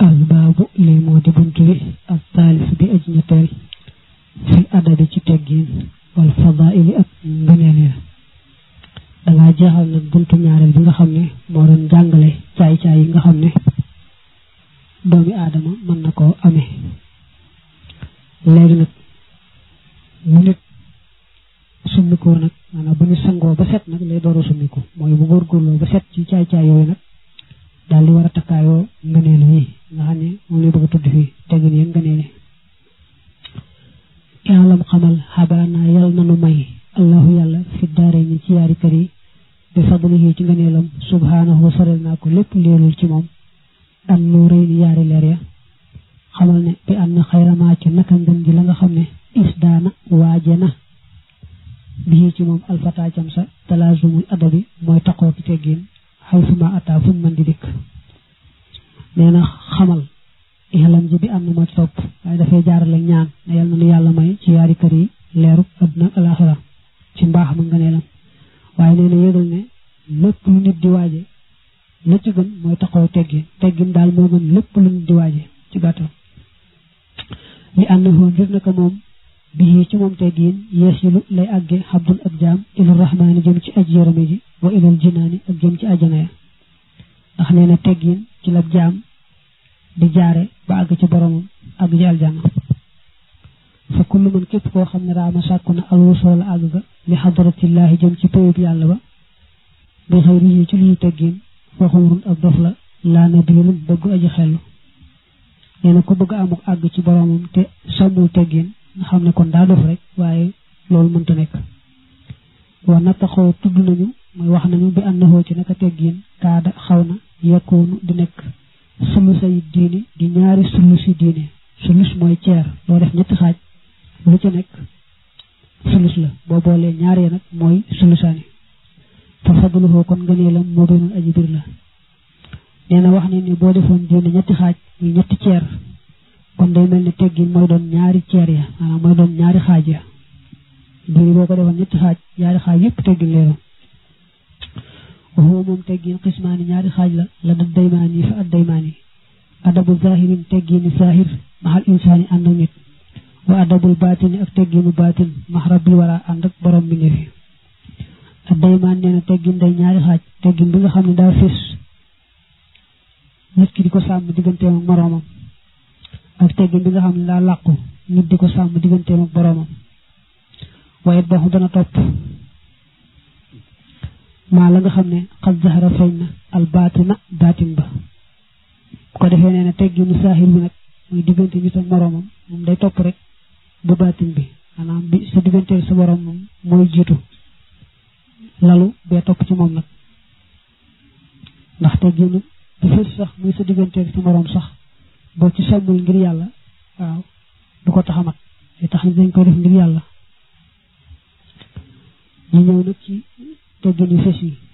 albaabu lii moo di bunt bi ak taalif bi aj ñetteel fil adabi ci teggiin wal fadaili ak ngëneel ya dangaa jeexal nag buntu ñaareel bi nga xam ne moo doon jàngale caay-caay yi nga xam ne doomi aadama mën na koo amee léegi nag mu nit summikoo nag maanaam bu ñu sangoo ba set nag lay door a summiku mooy bu góorgóorloo ba set ci caay-caay yooyu nag daal di war a takkaayoo ngëneel yi nga xam ne moom lay bëgg a tudd fii teggin yi ngëneel yi yaalam xamal xabaana yal nanu may allahu yàlla fi daare ñi ci yaari kër yi bi fadlihi ci ngëneelam subhaanahu sorel naa ko lépp leelul ci moom an nu rëy ni yaari leer ya xamal ne bi am na xayramaa ci naka ngën ji la nga xam ne isdaana waaje na bii ci moom alfataacam sa talaazumul adabi mooy taqoo ki teggin xaysuma ataa fuñ mën di dikk nee na xamal ixalam ji bi am na moo ci topp waaye dafay jaarale ñaan ne yal na nu yàlla may ci yaari kër yi leeru adduna ak alaxira ci mbaax ma ngëneelam waaye nee na yëgal ne lépp lu nit di waaje la ci gën mooy taxaw teggin daal moo gën lépp lu nit di waaje ci gàttal li ànd na ngir naka moom bii ci moom teggin yeesilu lay àgge xabdun ak jaam ilal rahmaani jëm ci aj yërëme ji wa ilal jinaani ak jëm ci ajana ya ndax nee na teggin ci la jaam di jaare ba àgg ci boromam àgg ci aljana fa kullu man képp koo xam ne raama sàkku na alwusoo la àgg ga li xadaratillaahi jëm ci péyub yàlla ba bi xëyri yi ci luy teggin fa xumrun ak dof la laa nabiilun bëgg aji xellu nee na ku bëgg amuk àgg ci boromam te sàmmul teggin nga xam ne kon daa dof rek waaye loolu mënta nekk wa nattaxoo tudd nañu mooy wax nañu bi àndahoo ci naka teggin kaada xaw na yekkoonu di nekk sulusay diini di ñaari sulusi diine sulus mooy ceer loo def ñetti xaaj lu ci nekk sulus la boo boolee ñaar ya nag mooy sulusaani fa fadluhoo kon ngëneelam moo doonul aji bir la nee na wax ne ni boo defoon diine ñetti xaaj muy ñetti ceer kon day mel ni teggin mooy doon ñaari ceer ya maanaam mooy doon ñaari xaaj ya diine boo ko defoon ñetti xaaj ñaari xaaj yëpp teggin leeroon waxoo moom teggin xismaani ñaari xaaj la da daymaani fa ad daymaani adabu zahirin teggini zahir maxal insaani ànd ak nit wa adabul baatini ak tegginu baatin max rabbil wara ànd ak borom bi nefi ad daymaan nee na teggin day ñaari xaaj teggin bi nga xam ne daa fés nit ki di ko sàmm digganteem ak moroomam ak teggin bi nga xam ne daa làqu nit di ko sàmm digganteem ak boroomam waaye baxu dana topp maa la nga xam ne xas zahara feeñ na al baatina baatin ba bu ko defee nee na tegginu saahir bi nag muy diggante nit ak moroomam moom day topp rek bu baatin bi maanaam bi sa digganteel sa borom moom mooy jiitu lalu bee topp ci moom nag ndax tegginu bu fës sax muy sa digganteel sa moroom sax boo ci sàmmul ngir yàlla waaw du ko tax a mat day tax ni dañ koy def ngir yàlla ñu ñëw nag ci teggin yu fës yi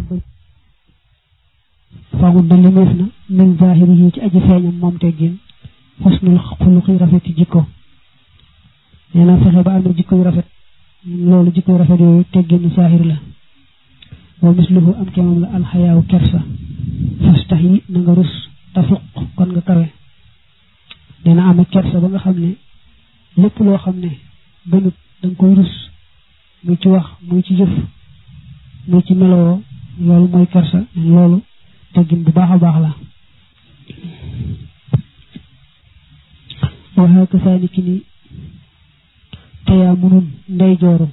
faaxut da limeef na min zahiri yi ci aji feeñam moom teggin xusnul xuluqi rafet yi jikko nee na fexe ba am na jikko yu rafet loolu jikko yu rafet yooyu tegginu zahir la wa misluhu am kemam la alxayaaw kersa fastax yi na nga rus tafuq kon nga kawe nee na am kersa ba nga xam ne lépp loo xam ne gënut danga koy rus muy ci wax muy ci jëf muy ci meloo loolu mooy kersa loolu teggin bu baax a baax la waxaa ka saani ki ni teyaa munun ndey jooru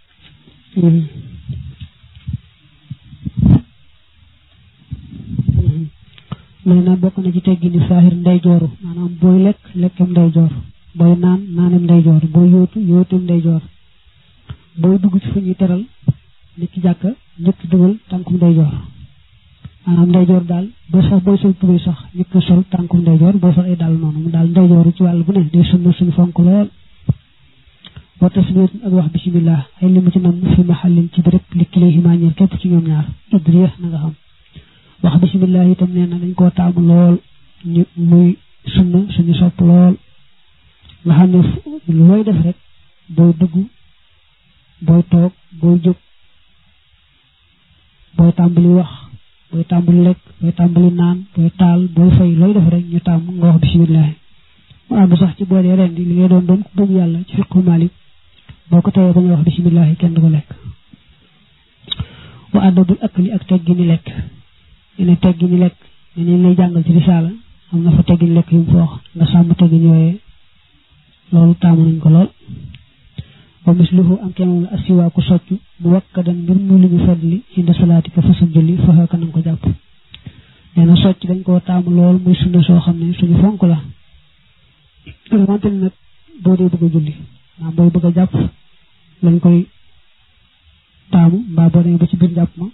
nee na bokk na ci teggini saahir ndey jooru maanaam booy lekk lekkem ndey joor booy naan naanem ndey joor booy yóotu yóotem ndey joor booy dugg ci fu ñuy teral nit ki jàkka njëkk dugal tànkum ndey joor maanaam ndeyjoor daal boo sax booy sol tubéy sax njëkk sol tànkum ndeyjoor boo sol ay daal noonu mu daal ndeyjooru ci wàll bu ne day sunna suñu fonk lool wa tasmiyat ak wax bismillah ay li mu ci nam fi mahallin ci béréb li kilayhima ñeel képp ci ñoom ñaar idriya na nga xam wax bismillah itam nee na dañ koo taamu lool ñu muy sunna suñu sopp lool nga xam ne looy def rek booy dugg booy toog booy jóg booy tàmbali wax booy tàmbali lekk booy tàmbali naan booy taal booy fay looy def rek ñu tàmm nga wax bismillah mu àgg sax ci boo dee ren di li ngay doon ku bëgg yàlla ci fiqhu Malik boo ko teyee bañ a wax bismillah kenn du ko lekk wa adabul akli ak teggi ni lekk ne teggi ni lekk ne ñu lay jàngal ci risaala am na fa teggi ni lekk yu mu fa wax nga sàmm teggi ñooyee loolu taamu nañ ko lool wa misluhu am kenn la asiwaaku soccu mu wakkadan mbir mu lu ñu fadli inda salaatika fa sa julli fa ka nanga ko jàpp nee na socc dañ koo taamu lool muy sunna soo xam ne suñu fonk la wante ni nag boo dee bëgg a julli maanaam booy bëgg a jàpp lañ koy taamu mbaa boo demee ba ci biir jàpp ma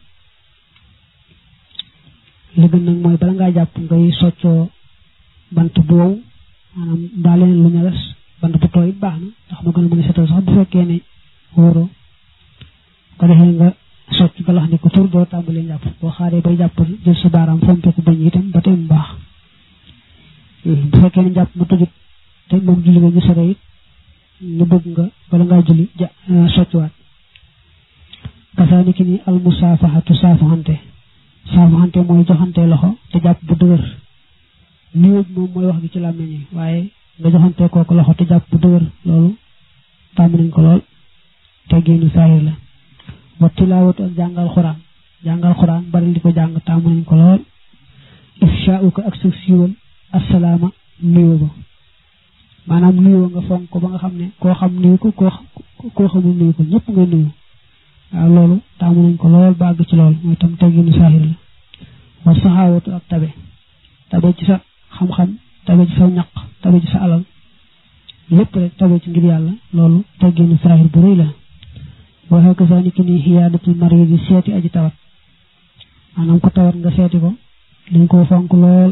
li gën nag mooy bala ngaa jàpp ngay soccoo bant bu wow maanaam mbaa leneen lu ñagas bant bu tooy baax na ndax ma gën a mën a setal sax bu fekkee ne wóoroo ko defee nga socc galax ni ko tur doo tàmbalee jàpp boo xaaree bay jàpp jël sa baaraam fompe ko bañ itam ba tey mu baax bu fekkee ne jàpp ma tëjut te moom julli nga ñu sore it ñu bëgg nga bala ngaa julli soccuwaat kasaani ki ni almusaafaxatu saafaxante mooy joxante loxo te jàpp bu dëgër nuyoo moom mooy wax gi ci làmmiñ yi waaye nga joxante kooku loxo te jàpp bu dëgër loolu tàmm nañ ko lool te génnu saahir la wa tilaawatu ak jàngal xuraan bari di ko jàng tàmm nañ ko lool ifshaa'uka ak sa siiwal assalaama nuyoo ba maanaam nuyoo nga fonk ko ba nga xam ne koo xam nuyu ko koo xamul nuyu ko ñëpp nga nuyu waaw loolu taamu nañ ko lool bàgg ci lool mooy tam tegginu saahir la wa saxaawatu ak tabe ci sa xam-xam tabe ci sa ñaq tabe ci sa alal lépp rek tabe ci ngir yàlla loolu tegginu saahir bu rëy la waxee ko saa ni ki ni xiyaadatul marid yi seeti aji tawat maanaam ko tawat nga seeti ko dañ koo fonk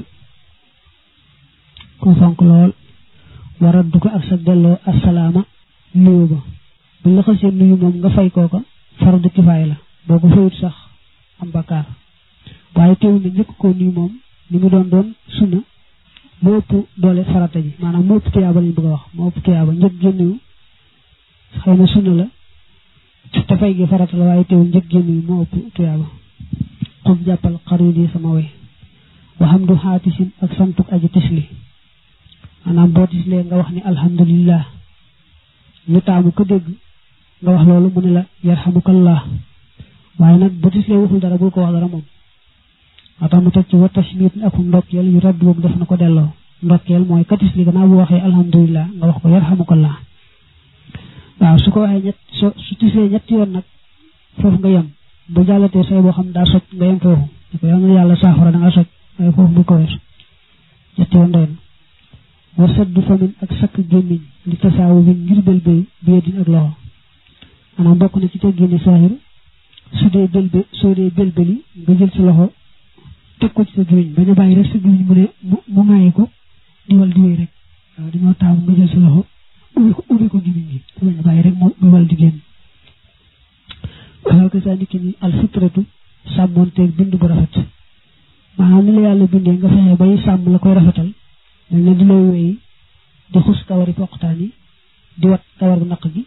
lool waraddu ko ak sa delloo assalaama nuyu ba bu la xasee nuyu moom nga fay kooka fardu kifaaya la boo ko fayut sax am bakkaar waaye teewul ne njëkk koo nuyu moom ni mu doon sunna moo ëpp doole farata ji maanaam moo ëpp tuyaaba lañ bëgg a wax moo ëpp tuyaaba njëkk génnuyu xëy na sunna la te fay gi farata la waaye teewul njëkk génnuyu moo ëpp tuyaaba xub jàppal xarit yi sama way waxam du xaatisin ak santuk aji tisli maanaam boo tislee nga wax ni alhamdulillah ñu taamu ko dégg nga wax loolu mu ne la yarhamukallah waaye nag bu tislee waxul dara bul ko wax dara moom moo tax mu teg ci wa tashmit akum ndokkeel yu radd boobu def na ko delloo ndokkeel mooy ka tisli gannaaw bu waxee alhamdulillah nga wax ko yarhamukallah waaw su ko waxee su tislee ñetti yoon nag foofu nga yem bu jàllatee say boo xam daa soj nga yem foofu ne ko yàlla yàlla saafara da nga soj waaye foofu bu ko weesu ñetti yoon doy na war saddu famin ak sakk gémmiñ li tasaawu bi ngir bëlbëy biyedin ak loxo maanaam bokk na ci teggini saahir soo dee bëlbëli nga jël sa loxo teg ko ci sa gémmiñ bañ a bàyyi rek sa gémmiñ mu ne mu ŋaayi ko diwal di wéy rek waaw dañoo taamu nga jël sa loxo ubbi ko gémmiñ gi bañ a bàyyi rek mu diwal di génn waaw ko saa niki ni alfitratu sàmmoonteeg bind bu rafet maanaam ni la yàlla bindee nga fexe bay sàmm la koy rafetal dañ ne di lay wéy di xus kawari poqtaan yi di wat kawar bu naq gi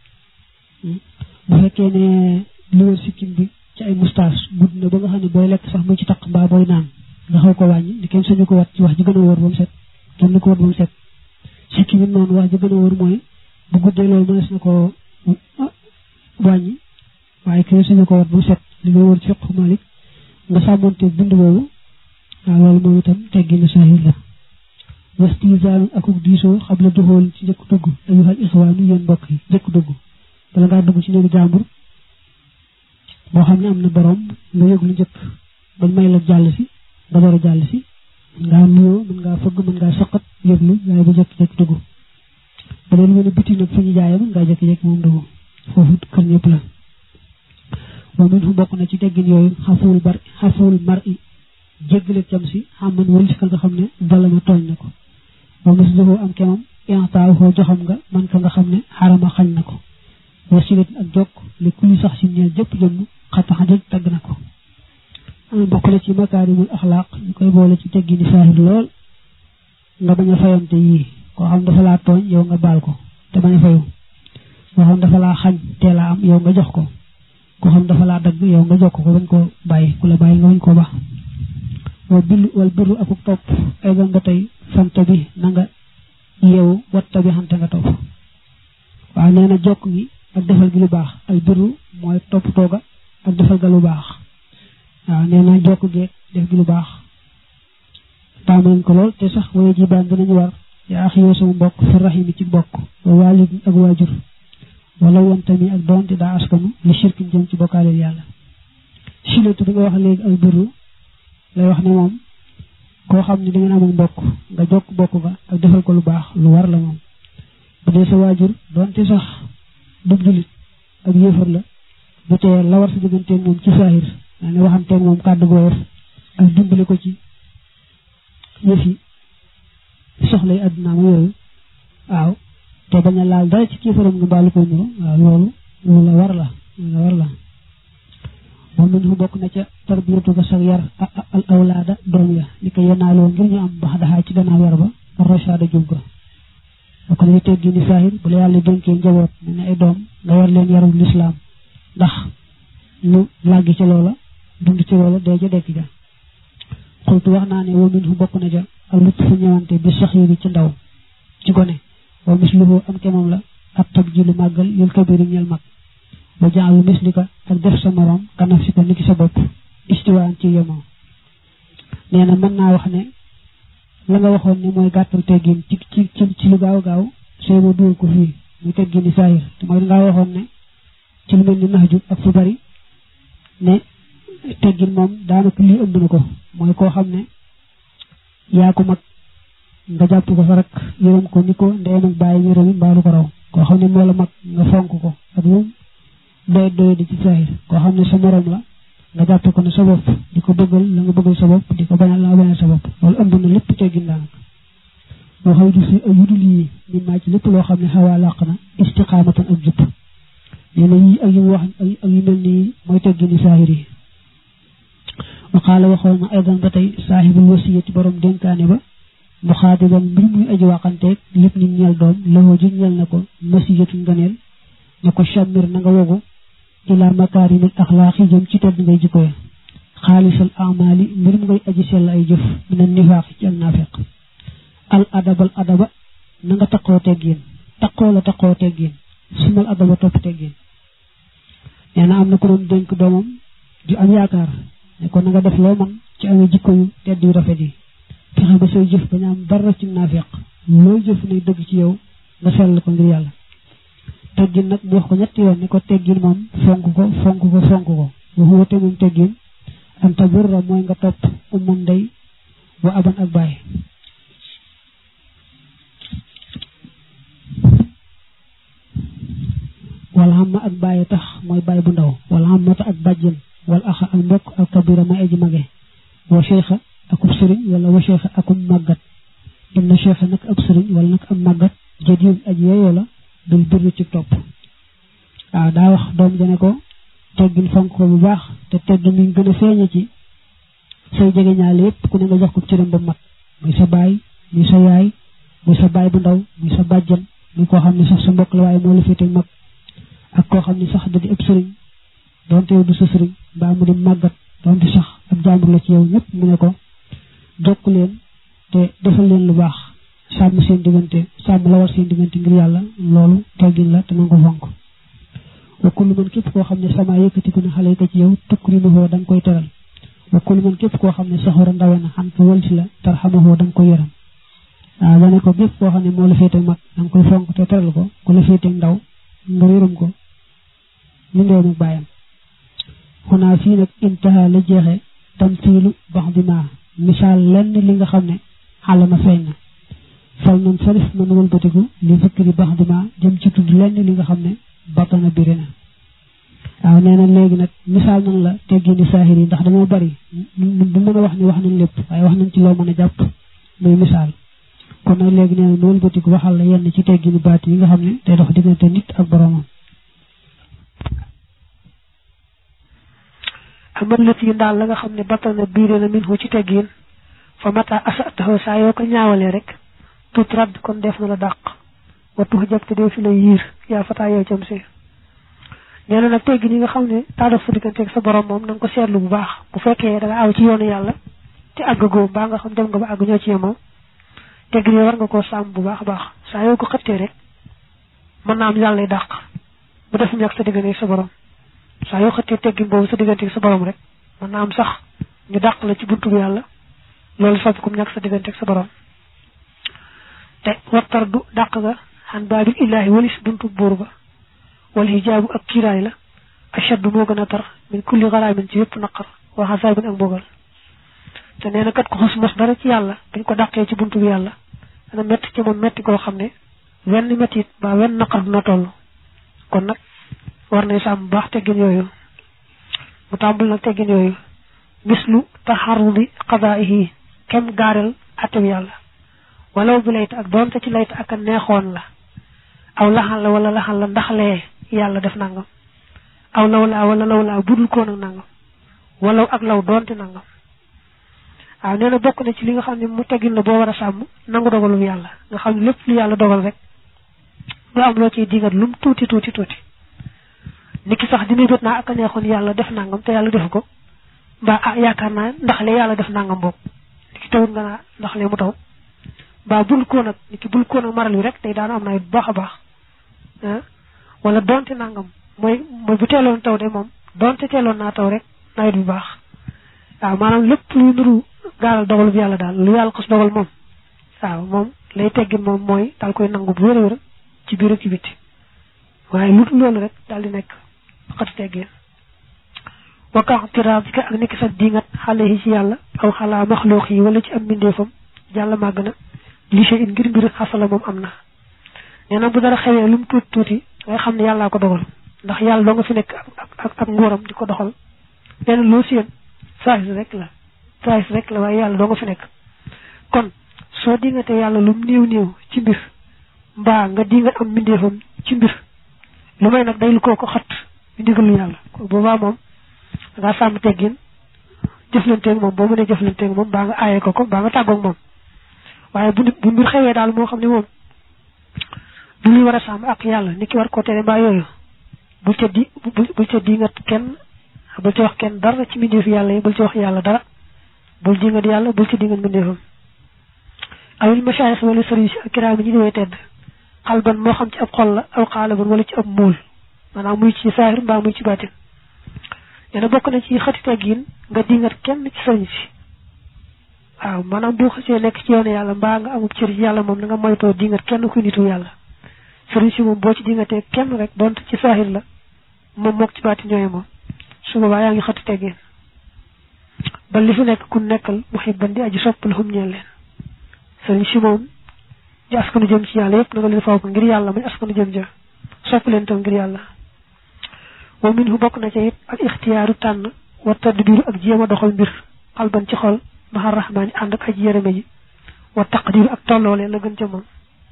bu fekkee ne li wër sikkim bi ci ay moustache gudd na ba nga xam ne booy lekk sax mu ci taq mbaa booy naan nga xaw ko wàññi di kenn sañu ko wat ci wax ji gën a wóor ba mu set kenn ko wat ba mu set sikkim it noonu wax ji gën a wóor mooy bu guddee loolu mënees na ko wàññi waaye kenn sañu ko wat ba mu set li ngay wóor ci fiqhu Malik nga sàmmonte bind boobu waaw loolu moom itam tegginu saahir la wastizaanu akuk diisoo xam la duxool ci njëkk dugg ayyuhal ixwaanu yéen mbokk yi njëkk dugg bala ngaa dugg ci néegu jàmbur boo xam ne am na borom nga yëg lu njëkk bañ may la jàll si nga door a jàll si mën ngaa nuyoo mën ngaa fëgg mën ngaa saqat yëglu waaye bu jëkk-jëkk dugg ba leen mën a biti nag fu ñu jaayee mën ngaa jëkk-jëkk moom dugg foofu kër ñëpp la moom min fu bokk na ci teggin yooyu xafuwul mar i jéggale cam si xamman wël si ka nga xam ne valama tooñ na ko moom na si joxoo am kemam intaaw xoo joxam nga man ka nga xam ne xarama xañ na ko wasilat ak jokk li kulli sax si ñeel jëpp jëmm xataxa jëj tagg na ko bokk la ci makaarimul axlaaq ñu koy boole ci teggini saahir lool nga bañ a fayante yii koo xam dafa laa tooñ yow nga baal ko te bañ a fayu koo xam dafa laa xañ teelaa am yow nga jox ko ko xam dafa laa dagg yow nga jokk ko bañ ko bàyyi ku la bàyyi nga bañ koo baax wal birru akuk topp ay doon ba tey fanta bi na nga yeewu watta bi xante nga topp waaw nee na jokk gi ak defal gi lu baax al birru mooy topp tooga ak defal ga lu baax waaw nee na jokk geeg def gi lu baax taamu nañ ko lool te sax waye ji baan dinañu war yaa axi yow sama mbokk fi rahimi ci mbokk wa walid ak waajur wala woon tamit ak doonte daa askanu li shirkin jëm ci bokkaaleel yàlla silatu bi nga wax léegi al birru lay wax ne moom koo xam ne da ngeen amul mbokk nga jokk bokk ga ak defal ko lu baax lu war la moom bu dee sa waajur doonte sax dub julit ak yéefar la bu tee la war sa digganteeg moom ci saahir daa ne waxanteeg moom kàddu gu woyof ak dimbali ko ci yëfi soxlay àdduna ma yooyu waaw te bañ a laal dara ci kéefaram nga mbaalu koy nuru waaw loolu lu la war la moom min fu bokk na ca tarbiyatu ga sax yar al awlaada doom ya li ko yenaaloo ngir ñu am bax daxaa ci gannaaw yar ba rochaada jub ga bokk na ci teggi ni saahir bu la yàlla dénkee njaboot ne ne ay doom nga war leen yarul lislaam ndax ñu làggi ci loola dund ci loola dee ja dekk ja xultu wax naa ne wa min fu bokk na ca al lut fu ñëwante bi saxiiri ci ndaw ci gone wa misluhu am kemam la ab tab ji lu màggal yul kabiri ñel mag ba jaalu mislika ak def sa morom kanaf si ko niki sa bopp istiwaan ci yemoo nee na mën naa wax ne la nga waxoon ne mooy gàttal teggin ci lu gaaw gaaw sooy ba dugal ko fii muy teggin ni saahir te mooy dangaa waxoon ne ci lu mel ni nax ju ak fu bari ne teggin moom daanaka lii ëmb na ko mooy koo xam ne yaa ko mag nga jàpp ko fa rek yërëm ko ni ko ndeyam ak bàyyi yërëmi mbaalu ko raw koo xam ne moo la mag nga fonk ko ak moom doy di ci saahir koo xam ne sa morom la nga jàpp ko ne sa bopp di ko bëggal la nga bëggal sa bopp di ko bañal la nga bañal sa bopp loolu ëmb na lépp teggin daanaka moo xaw du si ay yudul yi min maa ci lépp loo xam ne xawaa làq na istiqaamatan ak jub nee na yii ak yu wax ak yu mel nii mooy teggini saahir yi waxaala waxoon na aydan ba tey saahibul wasiyati borom dénkaane ba mu xaadiban mbir muy aji waxanteeg lépp ni ñeel doom loxoo ji ñeel na ko masiyatu nganeel na ko chammir na nga wogu ila makaarimil axlaaqi jëm ci tedd ngay jikko ya xaalisal amali mbir mu ngay aji sell ay jëf mina nifaaq ci ak naafiq al adaba na nga taqoo teggin taqoo teggin sumal adaba topp teggin nee na am na ko doon dénk doomam ju am yaakaar ne ko na nga def loo man ci amee jikko yu tedd yu rafet yi fexe ba say jëf bañ am dara ci naafiq looy jëf ne dëgg ci yow nga sell ko ngir yàlla teggin nag mu wax ko ñetti yoon ne ko teggin moom fonk ko waxuwa te moom teggin anta burra mooy nga topp umman ndey wa aban ak baay wala xam ma ak bàyyi tax mooy bàyyi bu ndaw wala xam mata ak bàjjen wala axa ak mbokk ak kabira may aji mage wa cheikha akub sëriñ wala wa cheikha akum màggat inna cheikha nag ab sëriñ wala nag am màggat jëdiw aji yeyoo la bil birri ci topp waaw daa wax doom jane ko teggin fonk ko bu baax te teggin mi gën a feeñe ci say jege ñaale yépp ku ne nga jox ko cëram ba mat muy sa baay muy sa yaay muy sa baay bu ndaw muy sa bàjjen muy koo xam ne sax sa mbokk la waaye moo la féete mag ak koo xam ne sax da di ëpp sëriñ doonte yow du sa sëriñ mbaa mu di màggat doonte sax ab jàmbur la ci yow ñëpp mu ne ko jokk leen te defal leen lu baax sàmm seen diggante sàmm la war seen diggante ngir yàlla loolu teggin la te nangu fonk wa kullu man képp koo xam ne sama yëkkatiku na xale ko ci yow tukrimuhoo da nga koy teral wa kullu man képp koo xam ne saxora ndawe na xam ko wëlsi la tarxamahoo da nga koy yaram waaw dane ko képp koo xam ne moo la féete mag da nga koy fonk te teral ko ku la féete ndaw nga yërëm ko ñu ndew nag bàyyam xunaa fii nag intaha la jeexe tamsiilu bax di ma misaal lenn li nga xam ne xalama feeñ na fal nun sarif man wëlbatiku li zikri bax di ma jëm ci tudd lenn li nga xam ne batana biri na waaw nee na léegi nag misaal nan la teggini saahir yi ndax dañoo bari du mën a wax ni wax nañ lépp waaye wax nañ ci loo mën a jàpp muy misaal kon nag léegi nee na nu wëlbatiku waxal la yenn ci teggini baat yi nga xam ne day dox diggante nit ak boroomam amal la ci daal la nga xam ne batana biire na min ci teggin fa mata asataxoo saa yoo ko ñaawalee rek tut radd kon def na la dàq wa tux jab te dee fi la yiir yaa fataa yow cam si neena nak teggi ni nga xamne taada fu digante ak sa borom mom nang ko seetlu bu baax bu fekke da nga aw ci yoonu yalla te aggo ba nga xam dem nga ba ag ñoo ci yemo teggi ni war nga ko sam bu baax baax sa yow ko xëtte rek man na am yalla lay dàq bu def ñak sa digante sa borom sa yow xëtte teggi bobu sa digante sa borom rek man na am sax ñu dàq la ci buntu yalla lolu fa ko ñak sa digante sa borom te wattardu dàq ga han babil illahi walis buntu buur ba wal hijabu ak kiray la ashaddu mo gëna tar min kulli gharamin ci yépp naqar wa hasabin ak bogal te neena kat ko xos mos dara ci yalla dañ ko dàqé ci buntu bi yalla dana metti ci mom metti ko xamne wenn metti ba wenn naqar na tollu kon nak war na sam baax teggin yoyu mu tambul nak teggin yoyu mislu taharrudi qada'ihi kem garal atam yalla walaw bi layta ak donte ci layta ak neexon la aw laxal la wala laxal la ndaxle yalla def nangam aw lawla wala lawla budul ko nak nangam walaw ak law donte nangam aw neena bokku na ci li nga xamni mu teggin la bo wara sam nangu dogalu yalla nga xam lepp lu yalla dogal rek do am lo ci digat lum tuti niki sax dina jot na ak neexon yalla def nangam te yalla def ko ba yakarna ndaxle yalla def nangam bok niki taw nga na ndaxle mu taw ba bul ko nak niki bul ko nak maral wi rek tay daana am na baaxa baax wala donte nangam moy bu telon taw de mom donte telon na taw rek nawet bu baax waaw manam lepp lu nuru gaal dogal bi yalla dal lu yalla xos dogal mom waaw mom lay teggi mom moy dal koy nangu bu wërë ci biir ci biti waye lu lolu rek dal di nek xat teggi wa ka tirabika ak nek sa dingat xale ci yalla aw xala makhluq yi wala ci am mindefam jalla magna li sey ngir mbir xasala mom amna neena bu dara xewé lum tuti ngay xamni yalla ko dogal ndax yalla do nga fi nek ak ngoram diko doxal ben lo seen sax rek la way yalla do nga fi nek kon so dingate yalla lum neew ci mbir mba nga di nga am mindefam ci mbir lu may nak day lu ko xat ndigalu yalla ko boba mom nga sam teggin jëflante ak mom bo mëne jëflante ak mom ba nga ayé ko ba nga taggo ak mom waye bu mbir xewé dal mo xamni mom du li wara sam ak yalla niki war ko téré ba yoyu bu ci di nga kenn bu ci wax kenn dara ci mbindeef yalla bu ci wax yalla dara bu di nga yalla bu ci di nga mbindeefam awil mashayikh wala serigne kiram ñi di tedd xalban mo xam ci ab xol la aw xalaban wala ci ab mool manam muy ci sahir ba muy ci batin yana bokk na ci xati teggin nga dingat kenn ci serigne ci waaw manam bu xasse nek ci yoonu yalla ba nga amu ci yalla mom nga moyto dingat kenn ku nitu yalla serigne ci mom bo ci dingate kenn rek dont ci sahir la mom mok ci batin ñoy mom suma ba yaangi xati teggin ba li fi nek ku nekkal muhibban di aji soppul hum ñeel leen serigne ci mom di askanu jëm ci yalla yépp nga leen faaw ngir yalla muy askanu jëm ja sopp leen tam ngir yalla wa minhu bokk na ci it ak ikhtiyaaru tan wa tadbiru ak jema doxal mbir qalban ci xol mahar rahmani and ak aji yereme ji wa taqdiru ak tollole la gën ci mom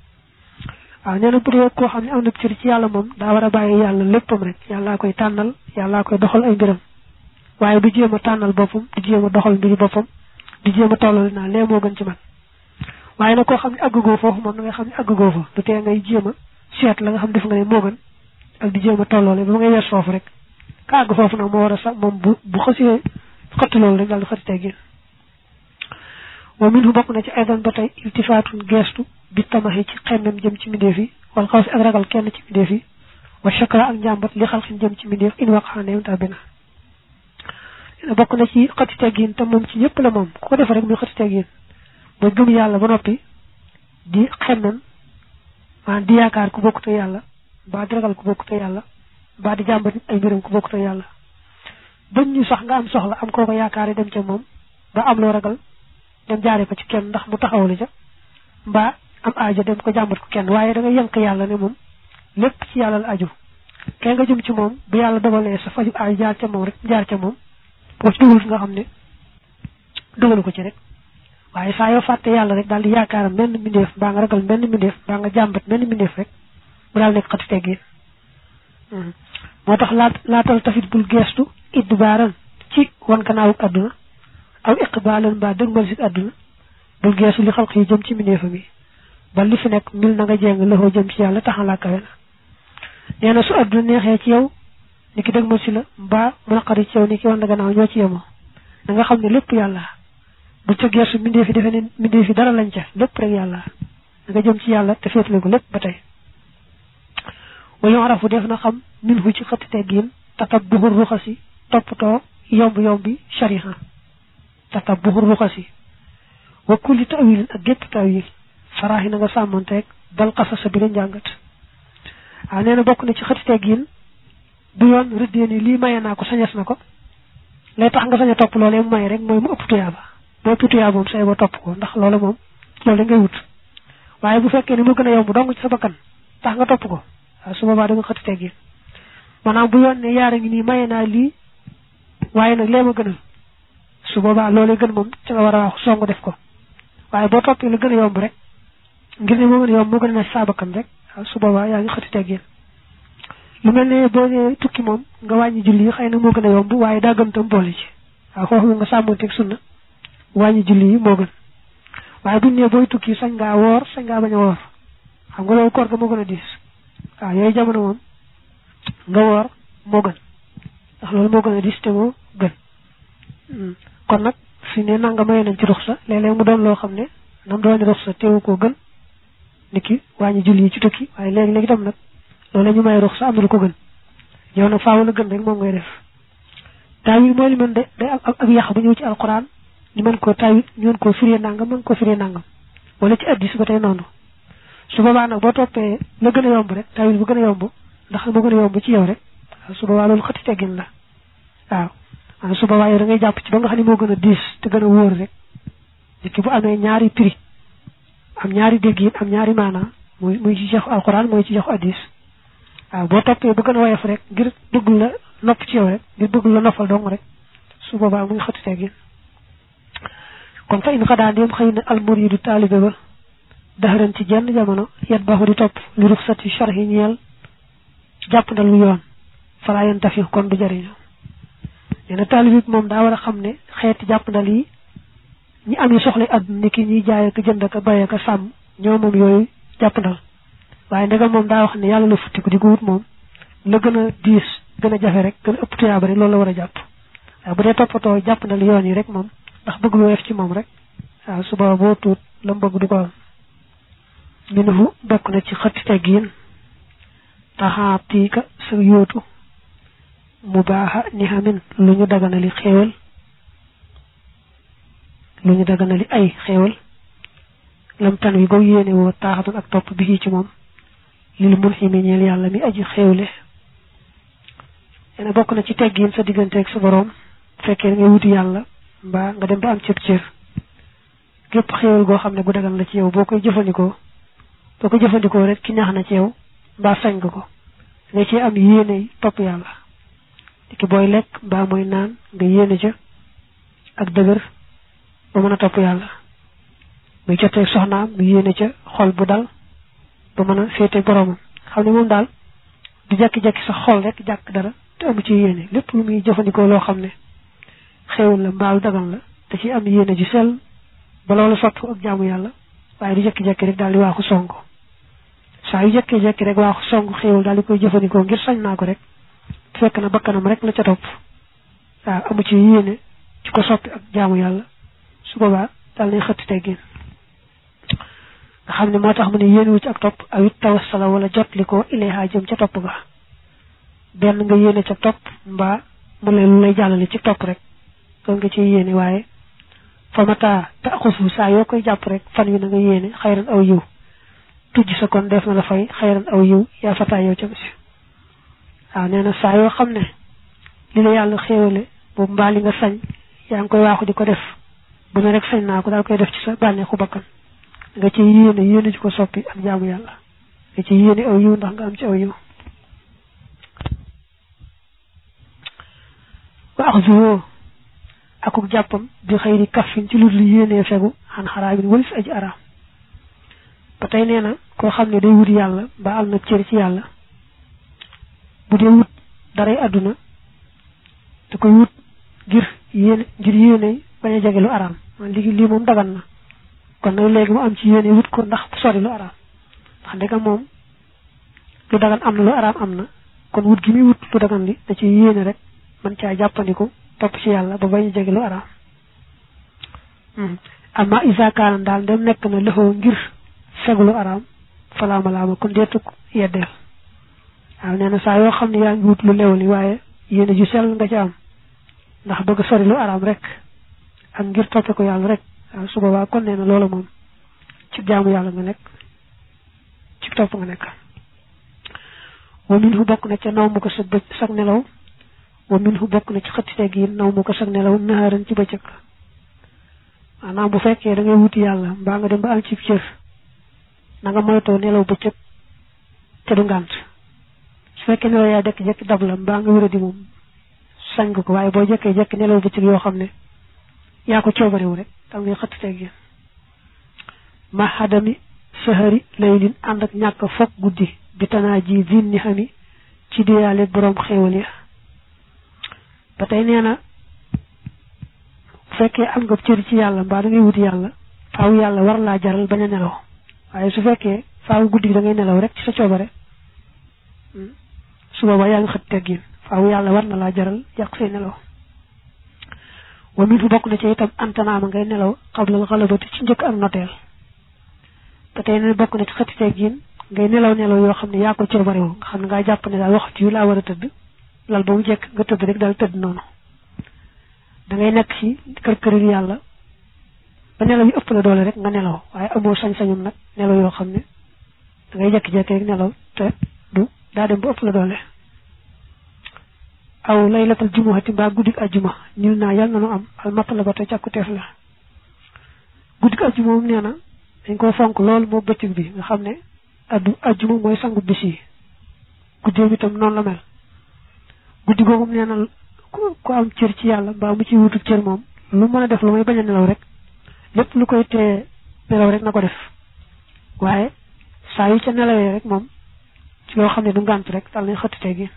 neena bu dee ko xamni am na ci yalla mom da wara baye yalla leppam rek yalla koy tanal yalla koy doxal ay mbiram waye du jema tanal bopum du jema doxal mbiri bopam du jema tollol na le mo gën ci man waye na ko xamni aggo fofu mom nga xamni aggo fa du te ngay jema seet la nga xam def nga ne mo gën ak di jema tollole ba ngay wess fofu rek ka aggo fofu nak mo wara sax mom bu xasse xott lol rek dal xatti teggi wa minhu bokku na ci aydan batay iltifatun gestu bi tamahi ci xemmem jëm ci mindefi wal xawf ak ragal kenn ci mindefi wa shakra ak jambat li xalxin jëm ci mindef in waqane ta bena bokku na ci xatti teggin tam mom ci ñepp la mom ko def rek muy xatti teggin ba gëm yalla ba nopi di xemmem man di yaakar ku bokku to yalla ba di ragal ku bokku to yalla ba di jambat ay mbirum ku bokku to yalla bañ ñu sax nga am soxla am ko yaakaare dem ci mom ba am lo ragal dem jaare ko ci kenn ndax mu taxawlu ca ba am aajo dem ko jambat ko kenn waye da nga yank yalla ne mom lepp ci yalla la aju kay nga jëm ci mom bu yalla dogalé sa faju ay jaar ca mom rek jaar ca mom bo ci dugul nga xamné dogalu ko ci rek waye sa yo fatte yalla rek dal di yaakaaram benn mindeef ba nga ragal benn mindeef ba nga jambat benn mindeef rek bu dal nek xati teggi motax la tal tafit bul gestu idbaran ci won kanaawu aduna aw iqbalan ba deugal ci aduna bul gestu li xalq yi jëm ci mindeefam yi ba li fi nek mil na nga jeng la ho jëm ci yalla taxala kawe na neena su aduna nexé ci yow ni ki dëgmal si la mbaa mu naqari ci yow ni ki wan la gannaaw ñoo ci yemoo da nga xam ne lépp yàlla bu ca gersu mbindee fi defe ne mbindee fi dara lañ ca lépp rek yàlla da nga jëm ci yàlla te féetale ko lépp ba tey wa yu'rafu def na xam minhu ci xëtt teggiin tatabbuhu ruxasi toppatoo yomb-yombi shariha tatabbuhu ruxasi wa kulli ta'wilin ak gépp ta'wil faraaxi na nga sàmmanteeg dal xasasa bi la njàngat waaw nee na bokk na ci xëtt teggiin bu yoon rëddee ni lii maye naa ko sañes na ko lay tax nga sañ a topp loolee mu maye rek mooy mu ëpp tuyaaba boo ëpp tuyaaba moom say ba topp ko ndax loolu moom loolu ngay wut waaye bu fekkee ne mu gën a yomb dong ci sa bakkan tax nga topp ko waaw su boobaa da nga xëtt teggiin maanaam bu yoon ne yaara ngi nii maye naa lii waaye nag lee ma gënal su boobaa loolee gën moom ci nga war a wax songu def ko waaye boo toppee la gën a yomb rek ngir ne moo gën a yomb moo gën a ne sa bakkan rek waaw su boobaa yaa ngi xëtt teggiin lu mel ne boo nee tukki moom nga wàññi julli yi xëy na moo gën a yomb waaye daa gën tam boole ci waaw foofu nga sàmmanteeg sunna wàññi julli yi moo gën waaye buñ ne booy tukki sañ ngaa woor sañ ngaa bañ a woor xam nga loolu koor ga moo gën a diis waaw yooyu jamono moom nga woor moo gën ndax loolu moo gën a diis te moo gën kon nag fi ne nanga maye nañ ci ruxsa léeg-léeg mu doon loo xam ne nam doon ruxsa teewu koo gën niki wàññi julli yi ci tukki waaye léegi-léegi tam nag loolu ñu may ruxsa am na lu ko gën yow nag faaw la gën rek moom ngay def taawil mooy li mën de day am ak yàq bu ñëw ci alquran ñu mën koo taawil ñu mën koo firee nangam mën koo firee nangam wala ci addis ba tey noonu su boobaa nag boo toppee la gën a yomb rek taawil bu gën a yomb ndax moo gën a yomb ci yow rek waaw su boobaa loolu xëtti teggin la waaw su boobaa yow da ngay jàpp ci ba nga xam ne moo gën a diis te gën a wóor rek nit ki bu amee ñaari prix am ñaari déggin am ñaari maanaa muy ci jox alquran mooy ci jox addis waaw boo toppee bu gën a woyof rek ngir bëgg la nopp ci yow rek ngir bëgg la noppal dong rek su boobaa muy xëtti teggin kon fa in xadaa ndéem xëy na almuridu taalibe ba daxaran ci jenn jamono yet baxu di topp li ruxsati sharhi ñeel jàpp ndal lu yoon falaa yan tafi kon du jariñu nee na taalibe bi moom daa war a xam ne xeeti jàpp ndal yi ñi am yi soxla àdduna ni ki ñiy jaay ak jënd ak bay ak sàmm ñoo moom yooyu jàpp ndal waaye ndegam moom daa wax ne yàlla la futti ko di ko wut moom la gën a diis gën a jafe rek gën a ëpp tuyaaba rek loolu la war a jàpp waaye bu dee toppatoo jàpp ndal yoon yi rek moom ndax bëgg lu weef ci moom rek waaw suba boo tuut la mu bëgg du ko am minhu bokk na ci xëtti teggiin taxaatiika sa yóotu mu baaxa ni xamin lu ñu daganali xéewal lu ñu daganali ay xéewal lam tan wi boo yéene woo taaxatan ak topp bi ci moom lil mun ximi ñeel yàlla mi aji xéewle yene bokk na ci teggiin sa digganteeg sa boroom fekkee ngay wuti yàlla mbaa nga dem ba am cër gépp xéewal goo xam ne bu dagan la ci yow boo koy jëfandikoo rek ki ñaax na ci yow mbaa sañ nga ko nga ci am yéene topp yàlla ki booy lekk mbaa mooy naan nga yéene ca ak dëgër ba mën a topp yàlla muy jotee soxnaam mu yéene ca xol bu dal ba mën a féete boromam xam ne moom daal du jekki-jekki sa xol rek jàkk dara te amu ci yéene lépp lu muy jëfandikoo loo xam ne xéewal la mbaalu dagan la te ci am yéene ju sell ba loolu sotti ak jaamu yàlla waaye du jekki-jekki rek daal di waaxu song saa yu jekki-jekki rek waaxu song xéewal daal di koy jëfandikoo ngir sañ naa ko rek fekk na bakkanam rek la ca topp waaw amu ci yéene ci ko soppi ak jaamu yàlla su boobaa daal nay xëtti teggin nga xam ne moo tax mu ne yéene wu ci ak topp awit tawassala wala jotli ko ilayha jëm ca topp ga benn nga yéene ca topp mbaa mu lay lu lay jàllale ci topp rek kon nga ci yéene waaye fa mata taxusu saa yoo koy jàpp rek fan wi na nga yéene xayran aw yiw tujj sa kon def na la fay xayran aw yiw yaa fataa yow ca bisi waaw nee na saa yoo xam ne li la yàlla xéewale boobu mbaa li nga sañ yaa ngi koy waaxu di ko def bu ne rek sañ naa ko daal koy def ci sa bànneexu bakkan nga ci yéene ci ko soppi ak jaamu yàlla nga ci yéene aw yiw ndax nga am ci aw yiw wa axzuwoo akuk jàppam bi xëyri kaffin ci lu li yéenee fegu xan xaraabin walis aji araam ba tey nee na koo xam ne day wut yàlla ba am na cër ci yàlla bu dee wut daray àdduna da koy wut ngir yéene bañ a jege lu araam man lii moom dagan na kon nag léegi mu am ci yéene wut ko ndax sori lu araam ndax ndegam moom lu dagan am na lu araam am na kon wut gi muy wut lu dagan li da ci yéene rek man caa jàppandiku topp ci yàlla ba bañ a jege lu araam amma isa kaana daal dem nekk na lëxoo ngir fegu lu araam falaama kon deetuk yeddeel waaw nee na saa yoo xam ne yaa ngi wut lu leew li waaye yéene ju sell nga ci am ndax bëgg sori lu araam rek ak ngir toppe ko yàlla rek waaw su boobaa kon nee na loolu moom ci jaamu yàlla nga nekk ci topp nga nekk wa minhu bokk na ca naw mu ko sag nelaw wa minhu bokk na ci xëttite gi naw mu ko sag nelaw naharan ci bëccëg maanaam bu fekkee da ngay wuti yàlla mbaa nga dem ba am ci cër na nga moytoo nelaw bëccëg te du ngànt su fekkee nelaw yaa jekki-jekki dab la mbaa nga wéra di moom sañ nga ko waaye boo jekkee-jekki nelaw bëccëg yoo xam ne yaa ko coobarewu rek tam ngay xëttite gi ma xadami sahari laylin ànd ak ñàkk foog guddi bi tanaa ji vin ni xami ci diyaale boroom xéewal ya ba tey nee na bu fekkee am nga cër ci yàlla mbaa da ngay wuti yàlla faaw yàlla war laa jaral bañ a nelaw waaye su fekkee faaw guddi gi da ngay nelaw rek ci sa coobare su boobaa yaa ngi xët teggin faaw yàlla war na laa jaral yàq say nelaw wa min fu bokk na ci itam antanaama ngay nelaw xablal xalabati ci njëkk ak noteel te tey ne bokk na ci xëtti teggin ngay nelaw yoo xam ne yaa ko coobarewu nga xam ne ngaa jàpp ne daal waxtu yu laa war a tëdd lal ba mu jekk nga tëdd rek daal tëdd noonu da ngay nekk ci kër yàlla ba nelaw yi ëpp la doole rek nga nelaw waaye amoo sañ-sañum nag nelaw yoo xam ne da ngay jekki-jekki rek nelaw te du daa dem ba ëpp la doole aw laylatal jumuhati mbaa guddik ajjuma ñul naa yàlla na nu am al matlabata càkkuteef la guddik ajjuma moom nee na dañ ko fonk lool moo bëccëg bi nga xam ne ajjuma mooy sangu bis yi guddeem itam noonu la mel guddi googu nee na ku am cër ci yàlla mbaa mu ci wutu cër moom lu mën a def lu may bañ a nelaw rek lépp lu koy tee nelaw rek na ko def waaye saa yu ca nelawee rek moom ci loo xam ne du ngànt rek dal nañ xëttite gi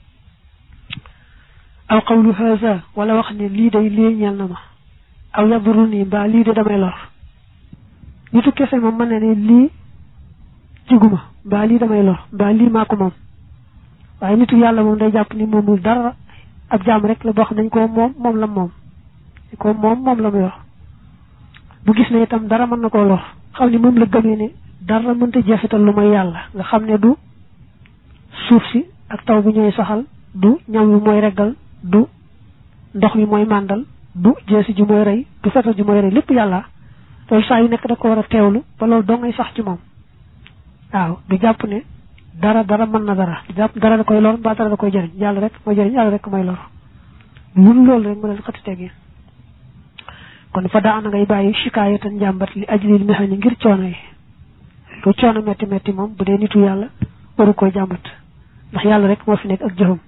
aw qawlu haza wala wax ne lii day lii ñeel na ma aw yaduru nii mbaa lii de damay lor nitu kese moom mën na ne lii jiguma mbaa lii damay lor mbaa lii maa ko moom waaye nitu yàlla moom day jàpp ni moomul dara ab jaam rek la boo xam dañ ko moom la moom la mu yor bu gis ne itam dara mën na koo lor xam ni moom la gëmee ne dara mënta jeexital lu may yàlla nga xam ne du suuf si ak taw bi ñooy saxal du ñam wi mooy reggal du ndox mi mooy màndal du jeesi ji mooy rey du fetal ji mooy rey lépp yàlla loolu saa yu nekk da ko war a teewlu ba loolu doo ngay sax ci moom waaw du jàpp ne dara mën na dara du jàpp dara da koy lor mbaa dara da koy jëriñ yàlla rek mooy jëriñ yàlla rek mooy lor lun loolu rek mu leen xëtti tegi kon fa daa na ngay bàyyi shikaayatan njàmbat li ajlil mihani ngir coono yi lu coono metti moom bu dee nitu yàlla waru koy jàmbat ndax yàlla rek moo fi nekk ak jëfam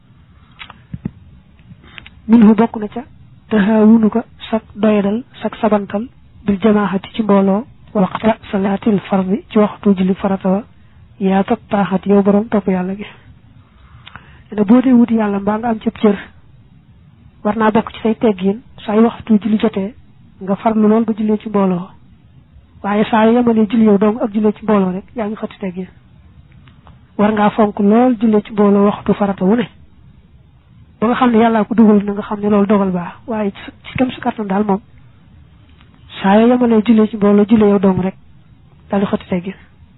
minhu bokk na ca tahaawunu ko sak doyadal sak sabantal bil jamaahati ci mbooloo waxta salaatil fardi ci waxtu julli farata wa yaa tat taaxat yow borom topp yàlla gi ne boo dee wuti yàlla mbaa nga am cëb cër war naa bokk ci say teggin saa yu waxtu julli jotee nga farlu lool ba jullee ci mbooloo waaye saa yu yemalee julli yow dong ak jullee ci mbooloo rek yaa ngi xëtti teggin war ngaa fonk lool jullee ci mbooloo waxtu farata wu ne ba nga xam ne yàllaa ko dugal na nga xam ne loolu dogal baax waaye ci kam si kattan daal moom saa yoo yemalee jullee ci mbooloo jullee yow dong rek daal di xëtti teggin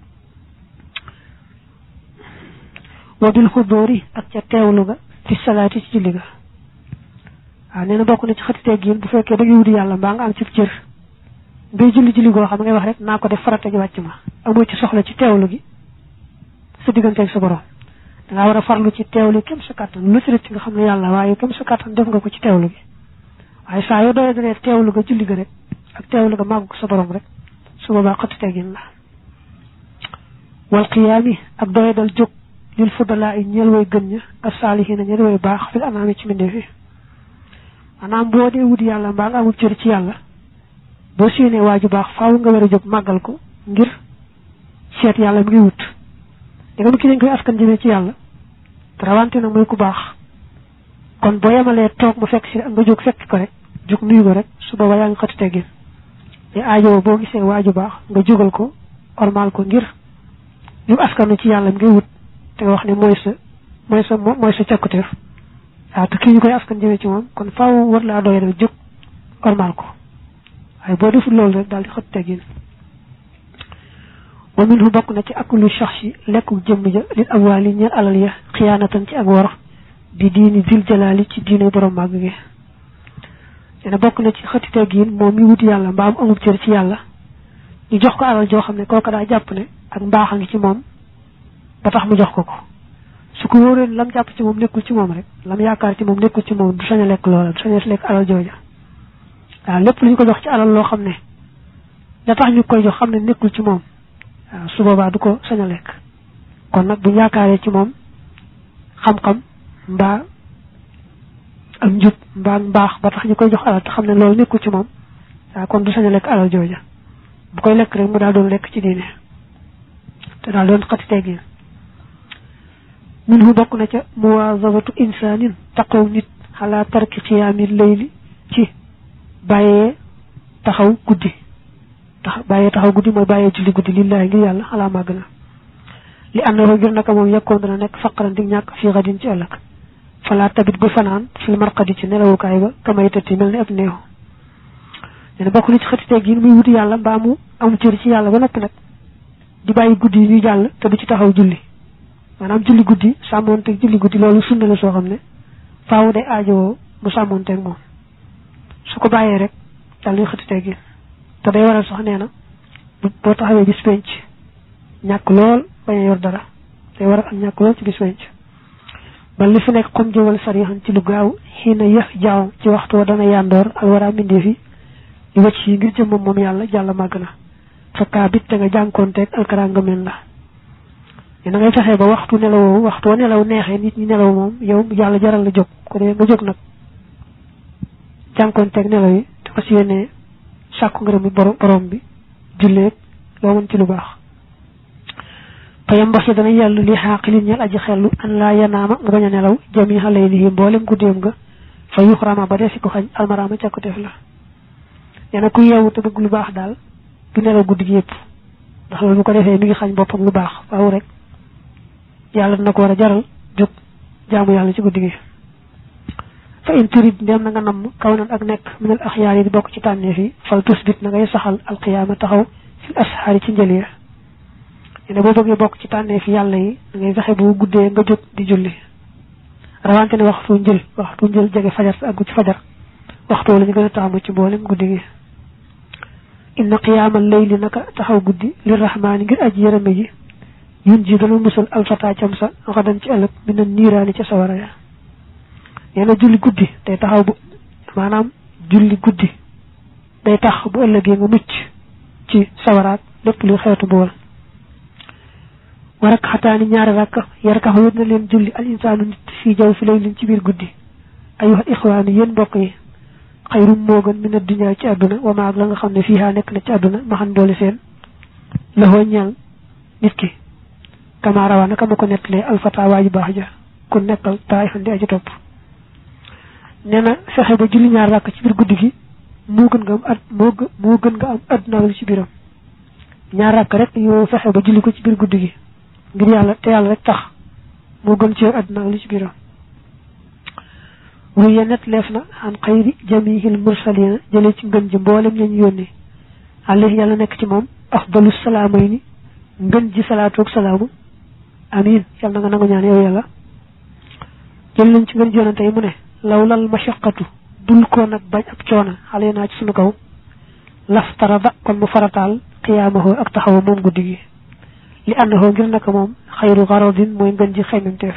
wa bil xudóori ak ca teewlu ga fi salaati ci julli ga waaw nee na bokk na ci xëtti teggin bu fekkee da ngay wuti yàlla mbaa nga am ci cër ngay julli goo xam ngay wax rek naa ko def farata ji wàcc ma amoo ci soxla ci teewlu gi sa digganteeg sa borom dangaa war a farlu ci teewlu kem sa kàttan lu ci rëcc nga xam ne yàlla waaye kem sa kàttan def nga ko ci teewlu gi waaye saa yoo doyee dalee teewlu ga julli ga rek ak teewlu ga màggu ko sa borom rek su boobaa xëtti teggin la wal qiyaami ak doye dal jóg lil fudalaa yi ñeel way gën ña ak saalihiina ñeel way baax fil anaami ci mbindeef yi maanaam boo dee wut yàlla mbaa nga amul cër ci yàlla boo séenee waaju baax faaw nga war a jóg màggal ko ngir seet yàlla mi ngi wut da nga ki dañ koy askan jëmee ci yàlla te rawante nag mooy ku baax kon boo yemalee toog mu fekk si ak nga jóg fekk ko rek jóg nuyu ko rek su boobaa yaa ngi xëtti teggin te aajo boo gisee waaju baax nga jógal ko ormal ko ngir ñu askanu ci yàlla mi ngi wut te nga wax ne mooy sa mooy sa càkkuteef waaw te kii ñu koy askan jëmee ci moom kon faaw war laa doy rek jóg ormal ko waaye boo deful loolu rek daal di xët teggin wa minhu bokk na ci akulu shakhsi lekku jëmm ja lil amwaali ñeel alal ya xiyaanatan ci ak wor bi diini zil jalaali ci diine borom màgg gi dina bokk na ci xëtti teggin moom mi wuti yàlla mbaam amub cër ci yàlla ñu jox ko alal joo xam ne kooka daa jàpp ne ak mbaax a ngi ci moom ba tax mu jox ko ko su ko wóoree lam jàpp ci moom nekkul ci moom rek lam yaakaar ci moom nekkul ci moom du sañ a lekk loola du sañ a lekk alal jooja waaw lépp lu ñu ko jox ci alal loo xam ne da tax ñu koy jox xam ne nekkul ci moom waaw su boobaa du ko sañ a lekk kon nag bu yaakaaree ci moom xam-xam mbaa am njub mbaa mbaax ba tax ñu koy jox alal te xam ne loolu nekkul ci moom waaw kon du sañ a lekk alal jooja bu koy lekk rek mu daal doon lekk ci diine te daal doon xati teggin minhu bokk na ca muwaazabatu insaanin taqaw nit xalaa tarki xiyaami layli ci bàyyee taxaw guddi bàyyee taxaw guddi mooy bàyyee julli guddi lillahi ngir yàlla xalaa màgg na li àndaxoo ngir naka moom yekkoon dana nekk faqaran di ñàkk fii xadin ci ëllëg falaa tabit bu fanaan fil marqadi ci nelawukaay ba kamay tëtti mel ni ab néew nee na bokk na ci xëti teggin muy wuti yàlla mbaa mu am cër ci yàlla ba noppi nag di bàyyi guddi yi ñuy jàll te du ci taxaw julli maanaam julli guddi sàmmoonteeg julli guddi loolu sunna la soo xam ne faaw day aajowoo mu sàmmoonteeg moom su ko bàyyee rek daal di xëti teggin te day waral sax nee na boo taxawee bis penc ñàkk lool bañ a yor dara day waral ak ñàkk lool ci bis penc ba li fi nekk xom jëwal sarixan ci lu gaaw xii na yëf jaaw ci waxtu wa dana yandoor alwara mbindeef yi di wàcc yi ngir jëmmam moom yàlla jàll màgg na fakkaa bit te nga jànkoonteeg alkara nga mel la na ngay fexee ba waxtu wa nelaw neexee nit ñi nelaw moom yow yàlla jaral la jóg ko dee nga jóg nag jànkoonteeg nelaw yi te fas yéene sàkku ngërëm borom bi julleeg loo mën ci lu baax payam mbox yi dana yellu li xaaqilin ñel aji xellu an laa yanaama nga bañ a nelaw jami xalay lihi mboolem guddeem nga fa yuxrama ba dee si ko xañ almaraama càkkuteef la nee na ku yeewu te bëgg lu baax daal du nelaw guddi gi yëpp ndax loolu bu ko defee mi ngi xañ boppam lu baax faaw rek yàlla dina ko war a jaral jóg jaamu yàlla ci guddi gi fa in turid ndem na nga namm kaw nan ak nekk minal axyaar yi di bokk ci tànneef yi fal tusbit na ngay saxal alqiyaama taxaw fil asxaari ci njëliya ne boo bëggee bokk ci tànneef yàlla yi da ngay fexe bu guddee nga jóg di julli rawante ne waxtu njël jege fajar sa àggu ci fajar waxtu la ñu gën a taamu ci mboolem guddi gi inna qiyaamal layli naka taxaw guddi li rahmaani ngir aji yërëme ji yun ji dana musal alfata cam sa xadan ci ëllëg bi na niiraani ca sawara ya nee na julli guddi day taxaw bu maanaam julli guddi day tax bu ëllëgee nga mucc ci sawaraat lépp luy xeetu bool warak xataani ñaari rakk yarkax wét na leen julli al insaanu nit fii jaw fi lay leen ci biir guddi ayuha ixwaani yéen mbokk yi xayrum moo gën min ad-dunya ci àdduna wa maag la nga xam ne fiihaa nekk na ci àdduna maxan boole seen la hoo ñeel nit ki kama rawaa naka ma ko nettalee alfata waa ji baax ja ku nekkal taay xandi aji topp nee na fexe ba julli ñaar rakk ci biir guddi gi moo gën nga am àdduna wala ci biiram ñaar rakk rek yow fexe ba julli ko ci biir guddi gi ngir yàlla te yàlla rek tax moo gën ci yow àdduna wala ci biiram wuye net leef na an xayri jamihil mursalina jëlee ci ngën ji mboolem ñañ yónni alayhi yàlla nekk ci moom afdalu salaamayni ngën ji salaatu ak salaamu amin yàlla na nga nangu ñaan yow yàlla jël nañ ci ngën ji yonante yi mu ne lawlal mashaqatu dul ko nag bañ ab coona xale naa ci sunu kaw laftarada kon mu farataal qiyaamahu ak taxaw moom guddi gi li annahu ngir naka moom xayru garadin mooy ngën ji xeymemteef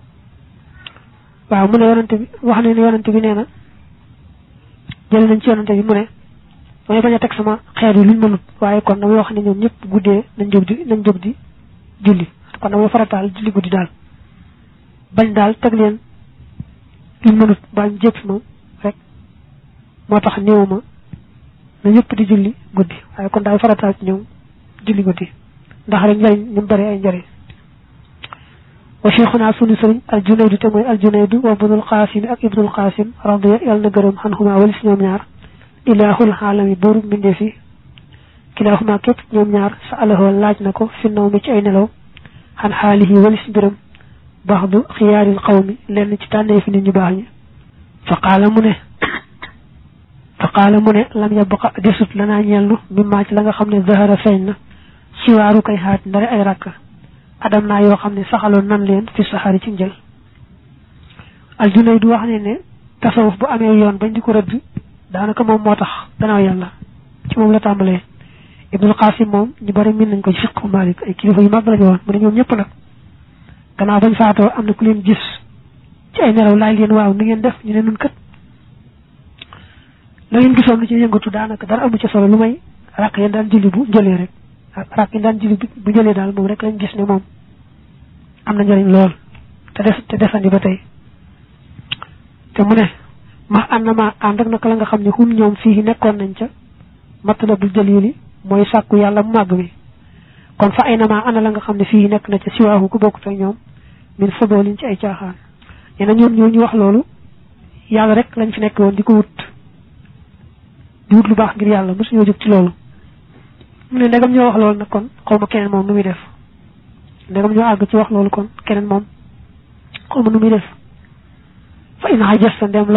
waaw mu ne yonante bi wax ne yonante bi nee na jël nañ ci yonante bi mu ne damay bañ a teg sama xeer yi luñ mënut waaye kon damay wax ne ñoom ñëpp guddee nañ jóg di julli kon damay farataal julli guddi daal bañ daal teg leen luñ mënut bañ jéppi ma rek moo tax néewuma na ñëpp di julli guddi waaye kon daal farataal ci ñoom julli guddi ndax rek njëriñ ñu bari ay njëriñ wa cheikhuna sunu sëriñ aljunaydu te mooy aljunaydu wa ibnul qasim ak ibnul qasim radiya yàlla na gërëm xanhuma walis ñoom ñaar ilaahul xaalami buuru mbindeef yi kilaahuma képp ñoom ñaar sa alahoo laaj na ko fi naw mi ci ay nelaw xan xaalihi walis mbiram baxdu xiyaaril qawmi lenn ci tànnee fi nit ñu baax ñi fa qaala mu ne lam yabqa desut lanaa ñellu mimmaa ci la nga xam ne zahara feeñ na siwaaru kay xaat ndare ay rakka adam naa yoo xam ne saxaloon nan leen fi saxaari ci njël Al-Junayd du wax ne tasawuf bu amee yoon bañ di ko rëdd daanaka moom moo tax gannaaw yàlla ci moom la tàmbalee Ibnul Qasim moom ñu bari min nañ ko ci fiqhu Malik ay kilifa yu mag lañu woon mu ne ñoom ñëpp nag gannaaw bañ faatoo am na ku leen gis ci ay nelaw laaj leen waaw nu ngeen def ñu ne nun kat la ngeen gisoon lu ci yëngatu daanaka dara amu ci solo lu may rakk yéen daan julli bu njëlee rek rakk yi daan julli bu njëlee daal moom rek lañ gis ne moom am na njëriñ lool te desandi ba tey te mu ne ma ànd ak naka la nga xam ne hum ñoom fii nekkoon nañ ca matlabul jalili mooy sàkku yàlla mu màgg mi kon fa ay nama ana la nga xam ne fii nekk na ca siwaahu ku bokkut ak ñoom min fodoolin ci ay caaxaan nee na ñoom ñoo ñu wax loolu yàlla rek lañ fi nekk woon di wut lu baax ngir yàlla mosuñoo jóg ci loolu mu ne ndegam ñoo wax loolu nag kon xaw ma keneen moom nu muy def ndegam ñoo àgg ci wax loolu kon keneen moom xaw ma nu muy def fa in xajasta ndeem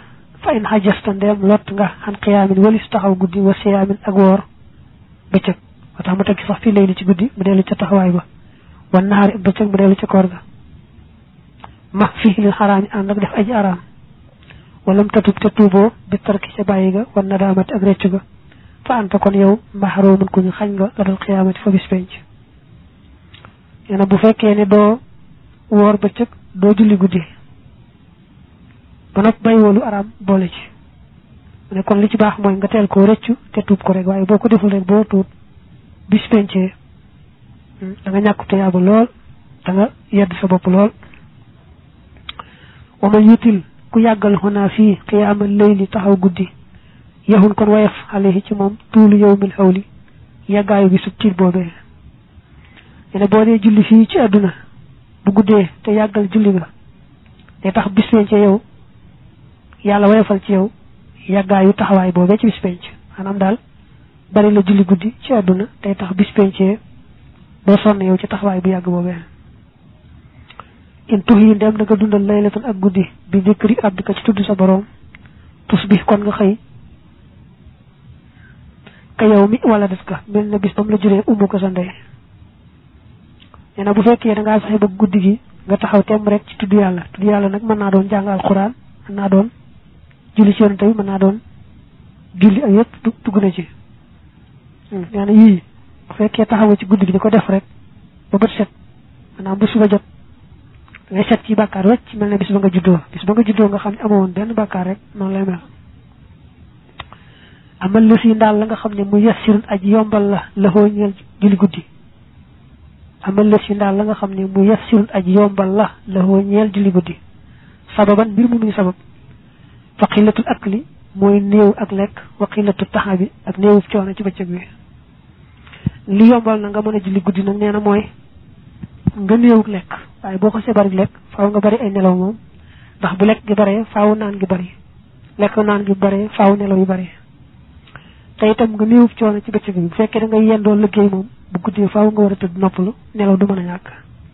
lott nga xan xiyaamin walis taxaw guddi wa siyaamin ak woor bëccëg ba tax mu tekki sax fii layli ci guddi mu dellu ca taxawaay ba wan naxaari ak bëccëg mu dellu ca koor ga ma fii lil xaraami ànd ak def aji araam wala mu tatub te tuuboo bi tarki ca bàyyi ga wan nadaamati ak reccu ga fa anta kon yow maxaroomun ku ñu xañ nga la dal xiyaamati fa bis penc nee na bu fekkee ne doo woor bëccëg doo julli guddi ba noppi bàyyi woolu araam boole ci mu ne kon li ci baax mooy nga teel koo rëccu te tuub ko rek waaye boo ko deful rek boo tuub bis pencee da nga ñàkk tuyaaba lool da nga yedd sa bopp lool wa man yutil ku yàggal xonaa fii xiyaamal layli taxaw guddi yaxun kon wayef alayhi ci moom tuulu yawmil xawli yàggaayu bi sub tiit boobee ne boo dee julli fii ci àdduna bu guddee te yàggal julli ga day tax bis penc yow yàlla wayefal ci yow yàggaayu taxawaay boobee ci bis penc maanaam daal bari la julli guddi ci àdduna day tax bis pencee doo sonn yow ci taxawaay bu yàgg boobee in tux yi ndem da nga dundal laylatan ak guddi bi dikri rabbika ci tudd sa boroom tus bi kon nga xëy ka yow mi wala des ka mel na bis ba mu la juree umu ko sa ndey nee na bu fekkee da ngaa saxe ba guddi gi nga taxaw temm rek ci tudd yàlla nag mën naa doon jàng alxuraan mën naa doon julli ci yonent bi mën naa doon julli ak yëpp dugg na ci nee na yii bu fekkee taxaw ci guddi gi di ko def rek ba bët set maanaam bu suba jot ngay set ci bàkkaar wecc mel ne bis ba nga juddoo nga xam ne amoo woon benn bàkkaar rek noonu lay mel amal la si ndaal la nga xam ne mu yassirun aji yombal la xoo ñeel julli guddi amal la si ndaal la nga xam ne mu yassirun aji yombal la xoo ñeel julli guddi sababan mbir mu muy sabab fa xillatul akli mooy néew ak lekk wa xillatu taxabi ak néewu coono ci bëccëg bi li yombal na nga mën a julli guddi nag nee na mooy nga néewuk lekk waaye boo ko see bari lekk faaw nga bari ay nelaw moom ndax bu lekk gi baree faaw naan gi bari lekk naan gi baree faaw nelaw yu bari te itam nga néewub coono ci bëccëg bi bu fekkee da nga yendoo liggéey moom bu guddee faaw nga war a tëdd noppalu nelaw du mën a ñàkk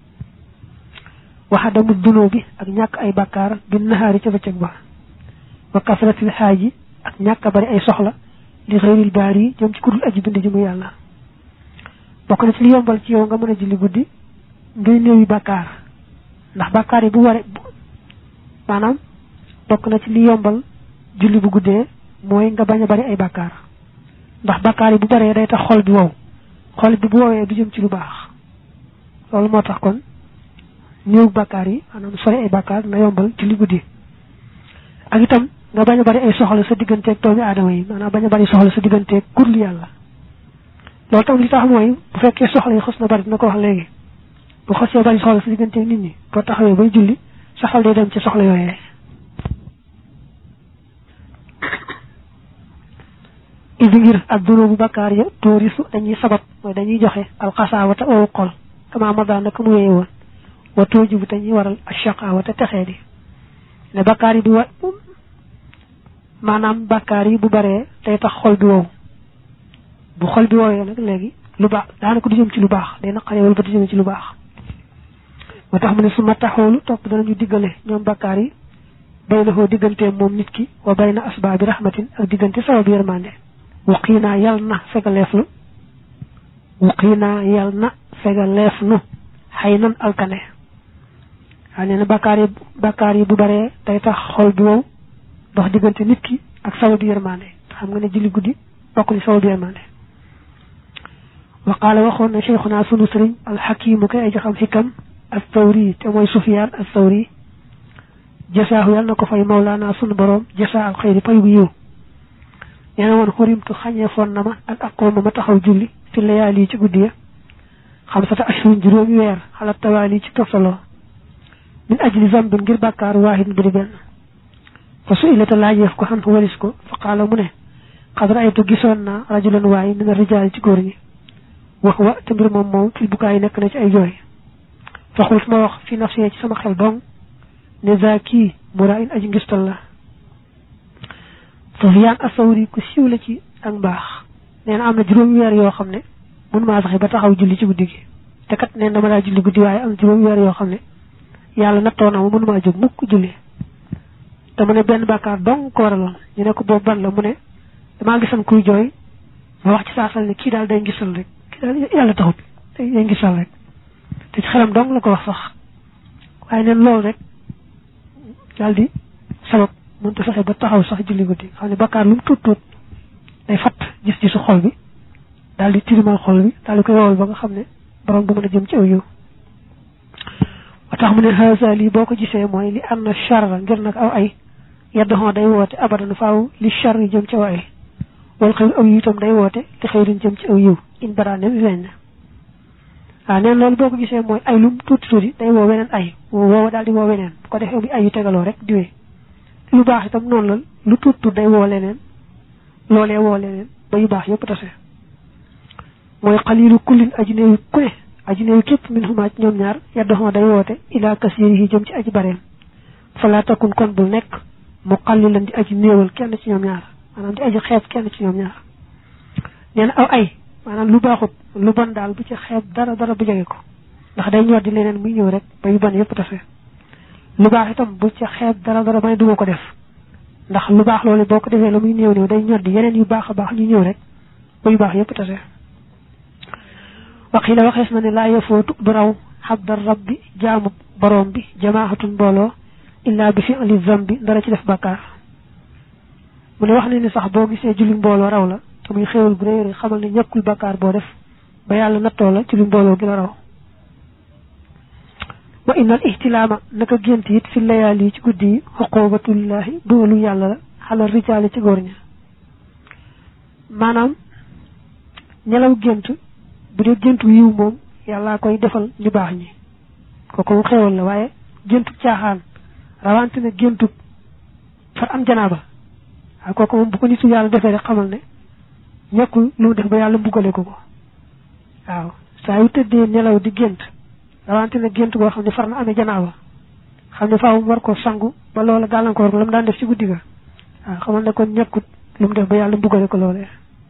waxa damu dunoo bi ak ñàkk ay bàkkaar bi naxaari ca bëccëg ba wa kasratil xaaji ak ñàkk a bari ay soxla li xëyril baar yi jëm ci kudul aji bind ji mu yàlla bokk na ci li yombal ci yow nga mën a julli guddi ngay néewi bàkkaar ndax bàkkaar yi bu waree maanaam bokk na ci li yombal julli bu guddee mooy nga bañ a bari ay bàkkaar ndax bàkkaar yi bu baree day tax xol bi wow xol bi bu wowee du jëm ci lu baax loolu moo tax kon néew bàkkaar yi maanaam sori ay bàkkaar na yombal julli guddi ak itam nga bañ a bari ay soxla sa digganteeg doomi aadama yi maanaam bañ a bari soxla sa digganteeg kurlu yàlla loolu tam li tax mooy bu fekkee soxla yi xos na bari dina ko wax léegi bu xosee bari soxla sa digganteeg nit ñi boo taxawee bay julli sa xol day dem ci soxla yooyee idi ngir ak dunoo bu bakkaar ya toorisu dañuy sabab mooy dañuy joxe alxasaawata owu xol kama mada naka mu wéye woon wa tooji bu dañuy waral ashaqaawata texee di ne bakkaar yi du wa maanaam bakkaar yi bu baree day tax xol bi wow bu xol bi woowee nag léegi lu baax daanaka du jëm ci lu baax day naqaree wala ba du jëm ci lu baax moo tax mu ne su ma taxoolu topp danañu diggale ñoom bakkaar yi baynahoo diggante moom nit ki wa bayna asbaabi rahmatin ak diggante sababi yërmande wuqiinaa yal na fegaleef nu xay nan alkane waaw nee na bakkaar yi bu baree day tax xol bi wow dox diggante nit ki ak sababi yërmande xam nga ne julli guddi bokk ni sababi yërmande wa qaala waxoon na cheikhuna sunu sëriñ alxakimu kay aji xam xikam as-Sawri te mooy Sufyaan as-Sawri jasaahu yàlla na ko fay mawlaana sunu borom jasaa al xayri pay bu yiw nee na woon xurimtu xañee foon na ma ak aqooma ma taxaw julli fi layaali ci guddi ya xamsata ashhurin juróomi weer xalaat tawaali ci toftaloo min ajli zambin ngir bàkkaar waahid bu di benn fa su ilata laajeef ko xam walis ko fa qaala mu ne xad raaytu gisoon naa rajulan waay min ar-rijaal ci góor ñi wax wa te mbir moom fil bukaay nekk na ci ay jooy fa xult ma wax fi nafsi ci sama xel dong ne zaaki muraayin aji ngistal la Sufyaan as-Sawri ku siiw la ci ak mbaax nee na am na juróomi weer yoo xam ne mënu maa saxe ba taxaw julli ci guddi gi te kat nee na dama daa julli guddi waaye am juróomi weer yoo xam ne yàlla nattoo na ma mënu maa jóg mukk julli te mu ne benn bàkkaar dong ko waraloon ñu ne ko boobu ban la mu ne damaa gisoon kuy jooy ma wax ci saasal ne kii daal day ngisal rek kii daal yàlla taxut day ngisal rek te ci xelam dong la ko wax sax waaye neen loolu rek daal di sabab mënut a fexe ba taxaw sax julli guddi xam ne bakkaar lu mu tuut day fatt gis-gisu xol bi daal di tirimal xol bi daal di koy wowal ba nga xam ne borom du mën a jëm ci aw yiw ba tax mu ne haasa lii boo ko gisee mooy li am na charra ngir nag aw ay yaddoxoo day woote abadan faaw li char yi jëm ci aw ay wal xëy aw yiw itam day woote li xëy duñ jëm ci aw yiw in baraane bi feeñ na waaw neen loolu boo ko gisee mooy ay lu tuuti day woo weneen ay woo daal di woo weneen bu ko defee muy ay yu tegaloo rek diwee lu baax itam noonu la lu tuut day woo leneen loolee woo leneen ba yu baax yëpp tase mooy xaliilu kullin aji néew ku ne aji néew képp min xumaa ci ñoom ñaar yaddoxoo day woote ilaa kasiiri yi jëm ci aji bareem falaa takun kon bul nekk mu xallilan di aji néewal kenn ci ñoom ñaar maanaam di aji xeeb kenn ci ñoom ñaar nee na aw ay maanaam lu baaxut lu bon daal bu ci xeeb dara bu jege ko ndax day ñor di leneen muy ñëw rek ba yu bon yëpp tase lu baax itam bu ci xeeb dara ba ne duma ko def ndax lu baax loolu boo ko defee la muy néew day ñor di yeneen yu baax a baax ñu ñëw rek ba yu baax yëpp tase waxi la waxees na ne laa yafootu du raw xabdar rabbi jaamu borom bi jamaaxatun mbooloo illaa bi fi'li zambi dara ci def bàkkaar mu ne wax ne ni sax boo gisee julli mbooloo raw la te muy xéewal bu réy xamal ne ñàkkul bàkkaar boo def ba yàlla nattoo la ci lu mbooloo gi la raw wa innal ihtilaama naka gént it fi layaali ci guddi yi xuqubatullahi dugalu yàlla la xalal rijaali ci góor ña maanaam ñelaw gént bu dee géntu yiw moom yàllaa koy defal ñu baax ñi kooku mu xéewal la waaye géntu caaxaan rawante ne géntu far am janaaba waaye kooku moom bu ko nitu yàlla defee rek xamal ne ñàkkul lu mu def ba yàlla mbugale ko waaw saa yu tëddee nelaw di gént rawante ne gént boo xam ne far na amee janaaba xam ne faaw mu war ko sangu ba loola gàllankoor ko la mu daan def ci guddi ga waaw xamal ne kon ñàkkut lu mu def ba yàlla mbugale ko loolee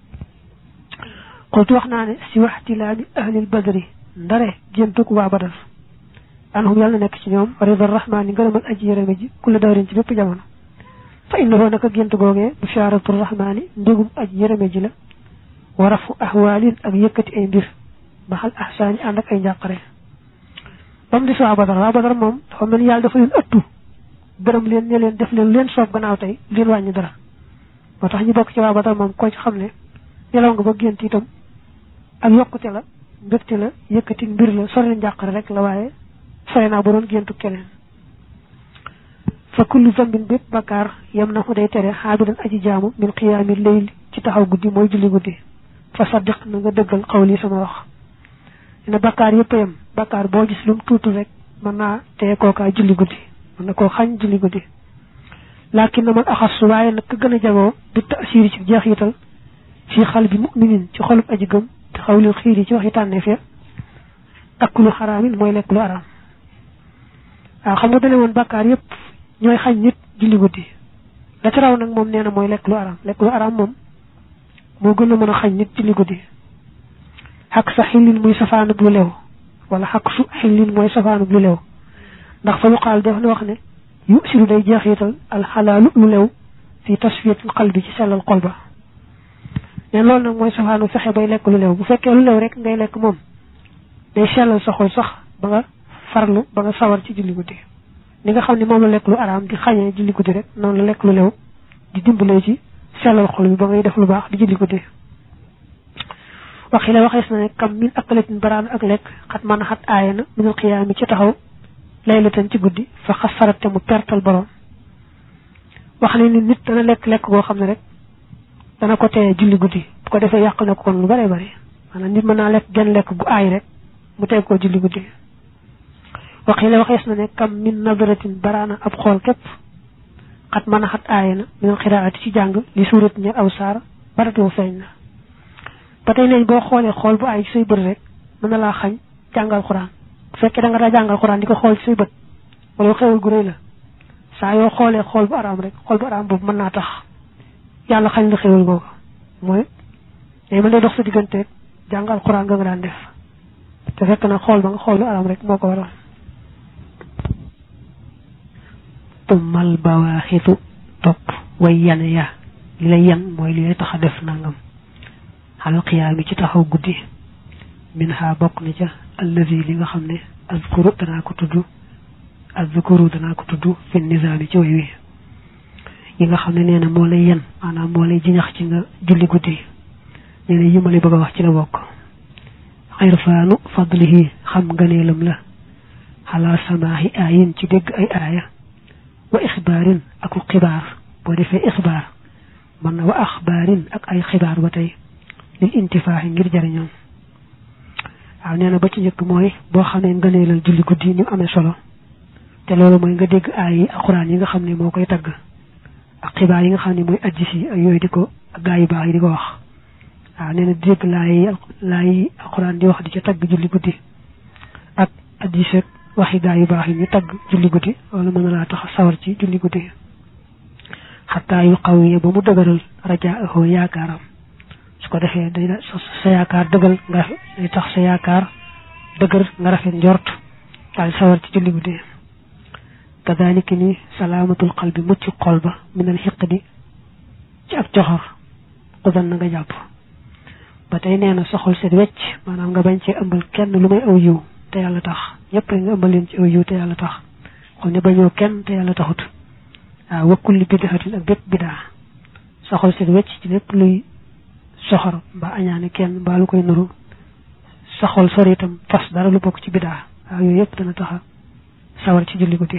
xultu wax naa ne si waxtilaami ahlil badri ndare géntug waa badar anhum yàlla nekk ci ñoom ridar rahmaani ngërëmal aji yërëme ji ku la dawrin ci bépp jamono fa innahu naka gént googee bushaaratu rahmaani mbégum aji yërëme ji la wa rafu ahwaalin ak yëkkati ay mbir maxal ahsaani ànd ak ay njàqare ba mu di waa badar moom dafa mel yàlla dafa leen ëttu gërëm leen ne leen def leen leen soob gannaaw tey leen wàññi dara moo tax ñu bokk ci waa badar moom koo ci xam ne nelaw nga ba gént itam ak yokkute la mbégte la yëkkati mbir la sori njàqare rek la waaye sore naa ba doon géntu keneen fa kullu zambin bépp bakkaar yam na ko day tere xaabidan aji jaamu min xiyaami layl ci taxaw guddi mooy julli guddi fa saddiq na nga dëggal xawli sama wax dina bakkaar yëpp yam bakkaar boo gis lu mu tuutu rek mën naa teye kookaa julli guddi mën na koo xañ julli guddi laakin na man axas waaye nag ka gën a jagoo bi taasiiri ci jeexital fii xal bi muminin ci xolub aji gëm te xawlil xiir yi ci waxi tànneef ya akulu xaraamin mooy lekk lu araam waaw xam nga dane woon bàkkaar yëpp ñooy xañ nit julli guddi la ci raw nag moom nee na mooy lekk lu araam moom moo gën a mën a xañ nit julli guddi xaq sa xillin muy safaanub lu lew wala xaq su xillin mooy safaanub lu lew ndax fa yuqaal def na wax ne yu siru day jeexital al xalaalu lu lew fi tasfiyatul qalbi ci sellal xol ba ne loolu nag mooy safaanu fexe bay lekk lu lew bu fekkee lu lew rek ngay lekk moom day sellal sa xol sax ba nga farlu ba nga sawar ci julli guddi ni nga xam ne moom la lekk lu araam di xañee julli guddi rek noonu la lekk lu lew di dimbalee ci sellal xol bi ba ngay def lu baax di julli guddi waxi la waxees na ne kam min akalatin baraan ak lekk xat mën a xat aaya na minal xiyaami ci taxaw laylatan ci guddi fa xasarate mu pertal borom wax ne ni nit dana lekk goo xam ne rek dana ko teye julli guddi bu ko defee yàq na ko kon lu bare bare maanaam nit mën naa lekk genn lekk gu aay rek mu teg koo julli guddi waxi la waxees na ne kam min nadaratin baraana ab xool képp xat mën a xat aaya na minal xiraati ci jàng li suurat ñer aw saar baratoo feeñ na ba tey léegi boo xoolee xool bu aay ci say bët rek mën na laa xañ jàngal xuraan bu fekkee da nga daa jàngal xuraan di ko xool ci say bët wala xewul gu rëy la saa yoo xoolee xool bu araam rek xool bu araam boobu mën naa tax yàlla xañ la xewul googu mooy day mën lay dox sa digganteeg jàngal xuraan nga daan def te fekk na xool ba nga xool lu araam rek moo ko waral tumal bawaaxitu topp way yane ya li lay yan mooy li lay tax a def nangam xal xiyaami ci taxaw guddi min ha bokk na ca allazi li nga xam ne azkuru danaa ko tudd fi nizaami ci way wi yi nga xam ne nee na moo lay yan maanaam moo lay jiñax ci nga julli guddi nee na yi ma lay bëgg a wax ci la bokk xirfaanu fadlihi xam nganeelam la xalaa samaahi aayin ci dégg ay aaya wa ixbaarin aku xibaar boo defee ixbaar mën na wa axbaarin ak ay xibaar ba tey lil intifaaxi ngir jariñoom waaw nee na ba ci njëkk mooy boo xamee ngëneelal julli guddi ni mu amee solo te loolu mooy nga dégg aay yi alxuraan yi nga xam ne moo koy tagg ak xibaar yi nga xam ne mooy addis yi ak yooyu di ko ak gaa yu baax yi di ko wax waaw nee na dégg laay alxuraan di wax di ca tagg julli guddi ak addis ak waxi gaa yu baax yi ñu tagg julli guddi loolu mën na laa tax sawar ci julli guddi xataa yu xaw yi ba mu dëgëral rajaahu yaakaaram su ko defee day sa yaakaar dëggal nga day tax sa yaakaar dëgër nga rafet njort daal sawar ci julli guddi kadaalika ni salaamatul qalbi mucc xol ba minal xiqdi ci ak coxor xudan na nga jàpp ba tey nee na sa xol set wecc maanaam nga bañ cee ëmbal kenn lu may aw yiw te yàlla tax ñëpp nga ëmbal leen ci aw yiw te yàlla tax xol ne bañoo kenn te yàlla taxut waaw wa kulli bid'atin ak bépp bidaa sa xol set wecc ci lépp luy soxor mbaa añaane kenn mbaa lu koy nuru sa xol sori itam fas dara lu bokk ci bidaa waaw yooyu yëpp dana taxa sawar ci julli guddi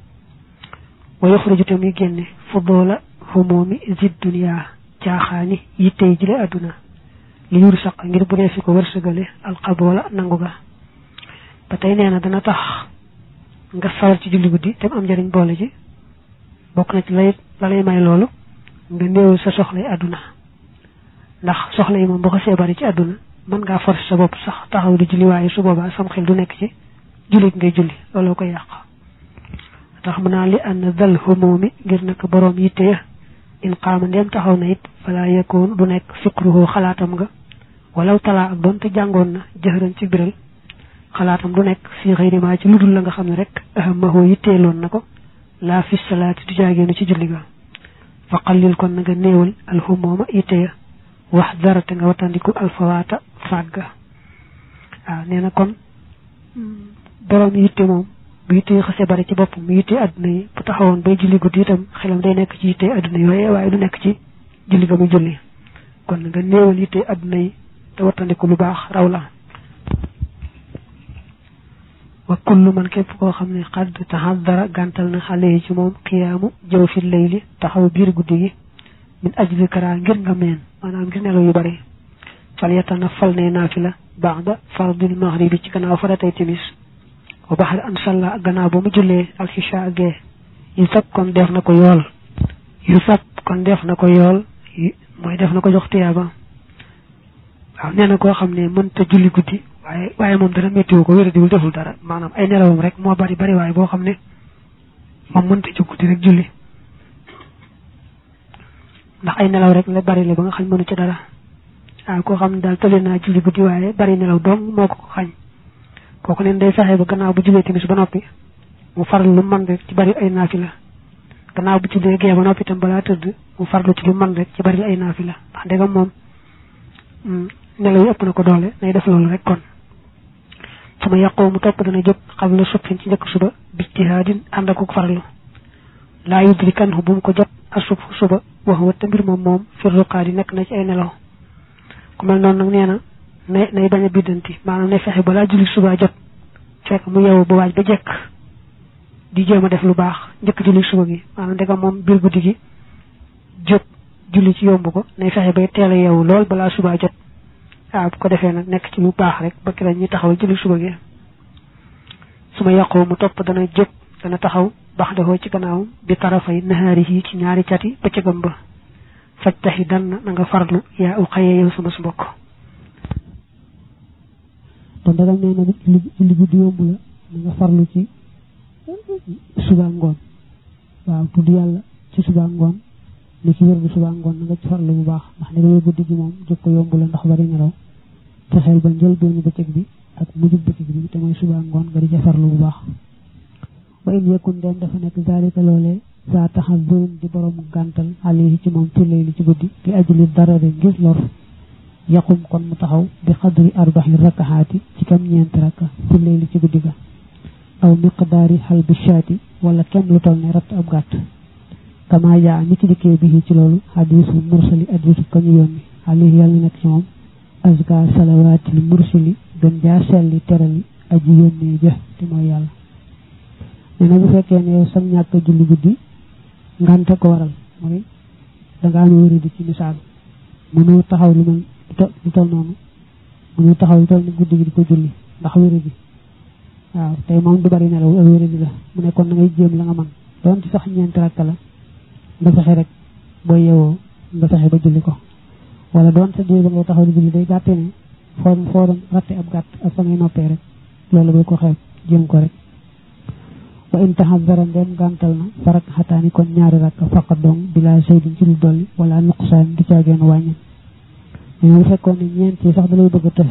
wa yaxruju te muy génne fudoola humoomi zid dunya caaxaani yittey jile adduna li yur saq ngir bu dee fi ko wërsëgale alxaboola nangu ga ba tey nee na dana tax nga sawar ci julli guddi te am njëriñ boole ji bokk na ci la lay may loolu nga néew sa soxlay adduna ndax soxla yi moom boo ko seebari ci àdduna mën ngaa force sa bopp sax taxaw di julli waaye su boobaa sam xel du nekk ci jullit ngay julli looloo koy yàq tax mu naa li ànd dal humoomi ngir nag boroom yitte ya in qaama ndeem taxaw na it fala yakoon du nekk fikruhu xalaatam nga walaw talaa ak doonte jàngoon na jëxëran ci biral xalaatam du nekk fii xëyri maa ci ludul la nga xam ne rek ahamahu yitteeloon na ko laa fi salaati du jaageenu ci julli ga fa qallil kon na nga néewal alhumooma yitte ya wax dara te nga watandiku alfawaata fàgga waaw nee na kon borom yitte moom bu yitte xase bari ci bopp mu yitte àdduna yi bu taxawoon bay julli guddi itam xelam day nekk ci yitte àdduna yi waaye du nekk ci julli ga muy julli kon nga néewal yitte àdduna yi te watandiku lu baax raw la wa kullu man képp koo xam ne xadd taxaddara gàntal na xale yi ci moom xiyaamu jëw fi layli taxaw biir guddi gi min ajli kara ngir nga meen maanaam ngir nelaw yu bari fal yatana fal ne naafila ba'da fardil maghribi ci gannaaw faratay timis wa baxar an salla gannaaw ba mu jullee alxisha gee yu sab kon def na ko yool mooy def na ko jox tiyaaba waaw nee na koo xam ne mënta julli guddi waaye moom dara méttiwu ko wéradiwul deful dara maanaam ay nelawam rek moo bari waaye boo xam ne moom mënta jóg guddi rek julli ndax ay nelaw rek la bari la ba nga xañ mënu ci dara waaw koo xam ne daal tële naa julli guddi waaye bari nelaw doom moo ko xañ kooku neen day fexe ba gannaaw bu jullee timis ba noppi mu farlu lu man rek ci bari ay naafila gannaaw bu jullee gee ba noppi itam balaa tëdd mu farlu ci lu man rek ci bari ay naafila ndax ndegam moom nelaw yi ëpp na ko doole nay def loolu rek kon sama yàqoo mu topp dana jóg xam la subhin ci njëkk suba bijtihaadin ànd ak farlu laa yudrikanhu bu mu ko jot asub suba wax wa te mbir moom firruqaat yi nekk na ci ay nelaw ku mel noonu nag nee na nay bañ a biddanti maanaam nay fexe balaa julli suba jot fekk mu yeewu ba waaj ba jekk di jéem a def lu baax njëkk julli suba gi maanaam ndegam moom biir guddi gi jóg julli ci yomb ko nay fexe bay teel a yeewu lool balaa suba jot waaw bu ko defee nag nekk ci lu baax rek ba ki la ñuy taxaw julli suba gi su ma yàqoo mu topp dana jóg dana taxaw bax dafoo ci gannaawam bi tarafay nahaari yi ci ñaari cati bëccëgam ba faj taxi dan na nga farlu yaa u xaye yow sama su mbokk te ndegam nee na julli guddi yomb la na nga farlu ci suba ngoon waaw tudd yàlla ci suba ngoon li ci wér bu suba ngoon na nga ci farlu bu baax ndax ne nga guddi gi moom jóg ko yomb la ndax bari nelaw te xel ba njël benn bëccëg bi ak mujjub bëccëg bi te mooy suba ngoon nga di ca farlu bu baax wa in yakun dem dafa nekk zalika loolee saa taxal doon di borom gàntal alayhi ci moom turlay li ci guddi li ajli darare ngir lor yaqum kon mu taxaw bi xadri arbaxi rakaxaati ci kam ñeenti rakka turlay li ci guddi ga aw miqdaari xal bi shaati wala kem lu toll ne ratt ab gàtt kama yaa ni ki dikkee bi ci loolu xadiisu mursali addisu kañu yónni alayhi yàlla nekk ci moom azka salawaatil mursali gën jaa selli terali aji yónnee ja te mooy yàlla nee na bu fekkee ne yow sam ñàkk julli guddi ngante ko waral mooy danga am wéri di ci misaal mënu taxaw lu mel lu toll noonu mënu taxaw lu toll ni guddi gi di ko julli ndax wéri di waaw tey moom du bari nelaw ak wéri di la mu ne kon na ngay jéem la nga man doon ci sax ñeenti rakka la nga fexe rek boo yewoo nga fexe ba julli ko wala doon sa diir ba ngay taxaw di julli day gàtte ne foo doon ratte ab gàtt ak fa ngay noppee rek loolu boo ko xeeb jéem ko rek wa in taxadara ndem gàntal na farak xataani kon ñaari rakka faqat dong bila saydin ci lu dolli wala nuqsaan du caageen wàññi mais bu fekkoon ne ñeent yi sax da lay bëgg a të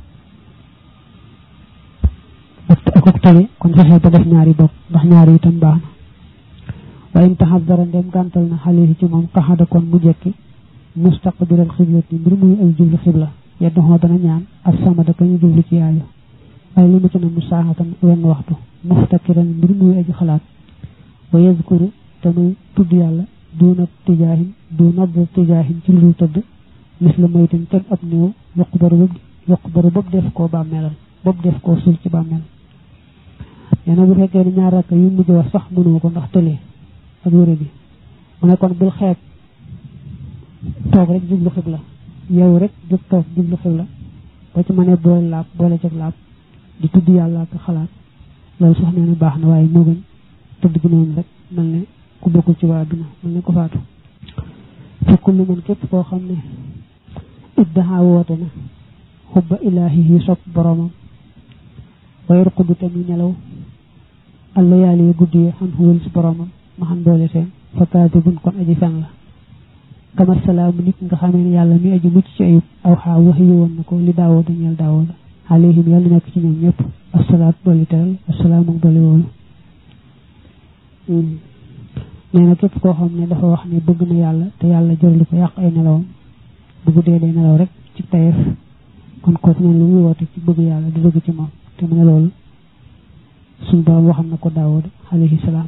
ak tali kon fexee ba def ñaari bopp ndax ñaari itam baax na wa in taxadara ndem gàntal na xale ci moom qaxada kon mu jekki mustaqbiral xiblati mbir muy ay jublu xibla yeddoxoo dana ñaan ak samada ka ñu jublu ci yaayu ay li mu ci na mu saaxatan wenn waxtu muftakiran mbir muy aji xalaat wa yazkuru te muy tudd yàlla duuna tijaahin ci lu tëdd mis la moytin kenn ab néew yoqbaru bopp def koo bàmmeelal bopp def koo sul ci bàmmeel nee na bu fekkee ne ñaar rakk yu mujj wax sax mënoo ko ndax tëlee ak wéré bi mu ne kon bul xeeb toog rek jublu xibla yow rek jóg toog jublu xibla boo ci mënee boole cag laab di tudd yàlla ak xalaat loolu sax nee na baax na waaye moo gën tëdd gi noonu rek mel ne ku bokkul ci waa adduna mel ne ko faatu fekkul lu mën képp koo xam ne iddaha woote na xubba ilaahi yi sopp boromam way ruqudu tamit nelaw alla yàlla yi guddi yi xam xuwal si boromam ma xam doole seen fa kaatibun kon aji fen la kamar salaamu nit nga xamee ne yàlla mi aji mucc ci ayub aw xaa wax yi woon na ko li daawoo dañeel daawoo la alayhim yàlla nekk ci ñoom ñëpp asalaat dolli teral asalaam ak dolli woolu nee na képp koo xam ne dafa wax ne bëgg na yàlla te yàlla jërali ko yàq ay nelawam bu guddee day nelaw rek ci tayeef kon kooku neen lu muy woote ci bëgg yàlla di bëgg ci moom te mu ne loolu suñu borom waxam na ko daawud alayhi salaam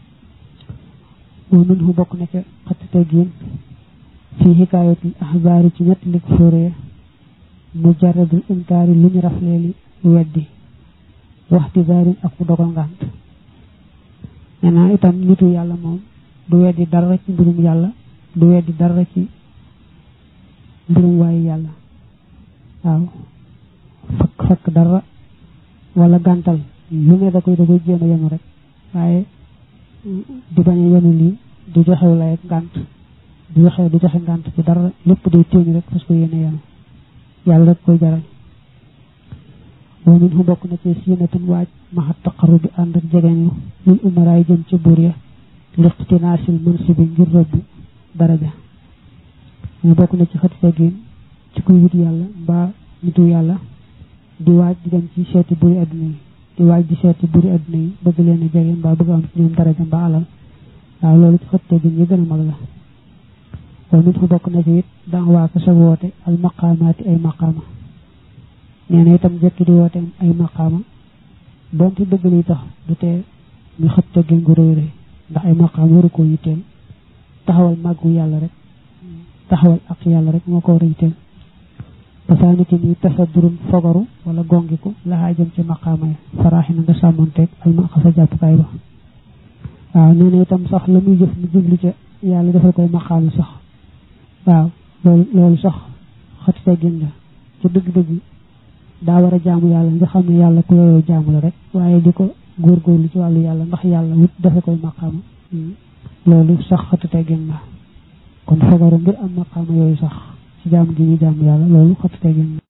wa minhu bokk na ca xatti teggiin fii xikaayatul axbaari ci ñett lig fóoree mujarradul inkaari lu ñu rafleeli weddi waxti daarin ak ku dogal ngànt nee na itam nitu yàlla moom du weddi dara ci mbirum yàlla du weddi dara ci mbirum waaye yàlla waaw fakk dara wala gàntal lu ne da koy jéem a yenu rek waaye di bañ a yenu lii du joxew lay ak ngànt du joxe ngànt ci dara lépp day téeñ rek parce que yéene yenu yàlla rek koy jaral wa min hu bokk na ci siinatun waaj maxa taqarru bi ànd ak jegeñlu lil umaraay jëm ci buur ya liqtinaasil mansibi ngir rëbb daraja ñu bokk na ci xati teggin ci kuy wut yàlla mbaa nitu yàlla di waaj di dem ci seeti buuri adduna yi di waaj di seeti buri adduna yi bëgg leen a jege mbaa bëgg am ci ñoom daraja mbaa alal waaw loolu ci xët teggin yi gën a mag la kon nit fu bokk na ci it danga waaka sa woote al maqaamaati ay maqaama nee na itam jekki di woote ay maqaama donte dëgg li tax du tee ñu xët teggin gu rëy rëy ndax ay maqaama waru ko yitteel taxawal màggu yàlla rek taxawal ak yàlla rek moo ko war a yitteel dafa ki ni tasaddurum fogaru wala gongiku laxaa jëm ci maqaama yi faraaxi na nga sàmmonteeg al maqa sa jàppukaay ba waaw nee na itam sax la muy jëf mu jublu ca yàlla defal koy maqaama sax waaw loolu sax xati teggin la ca dëgg-dëgg daa war a jaamu yàlla nga xam ne yàlla ku yooyu jaamu la rek waaye di ko góorgóorlu ci wàllu yàlla ndax yàlla wut dafa koy maqaama loolu sax xati teggin la kon fogaru ngir am maqaama yooyu sax ci jaamu gi ñu jaamu yàlla loolu xati teggin la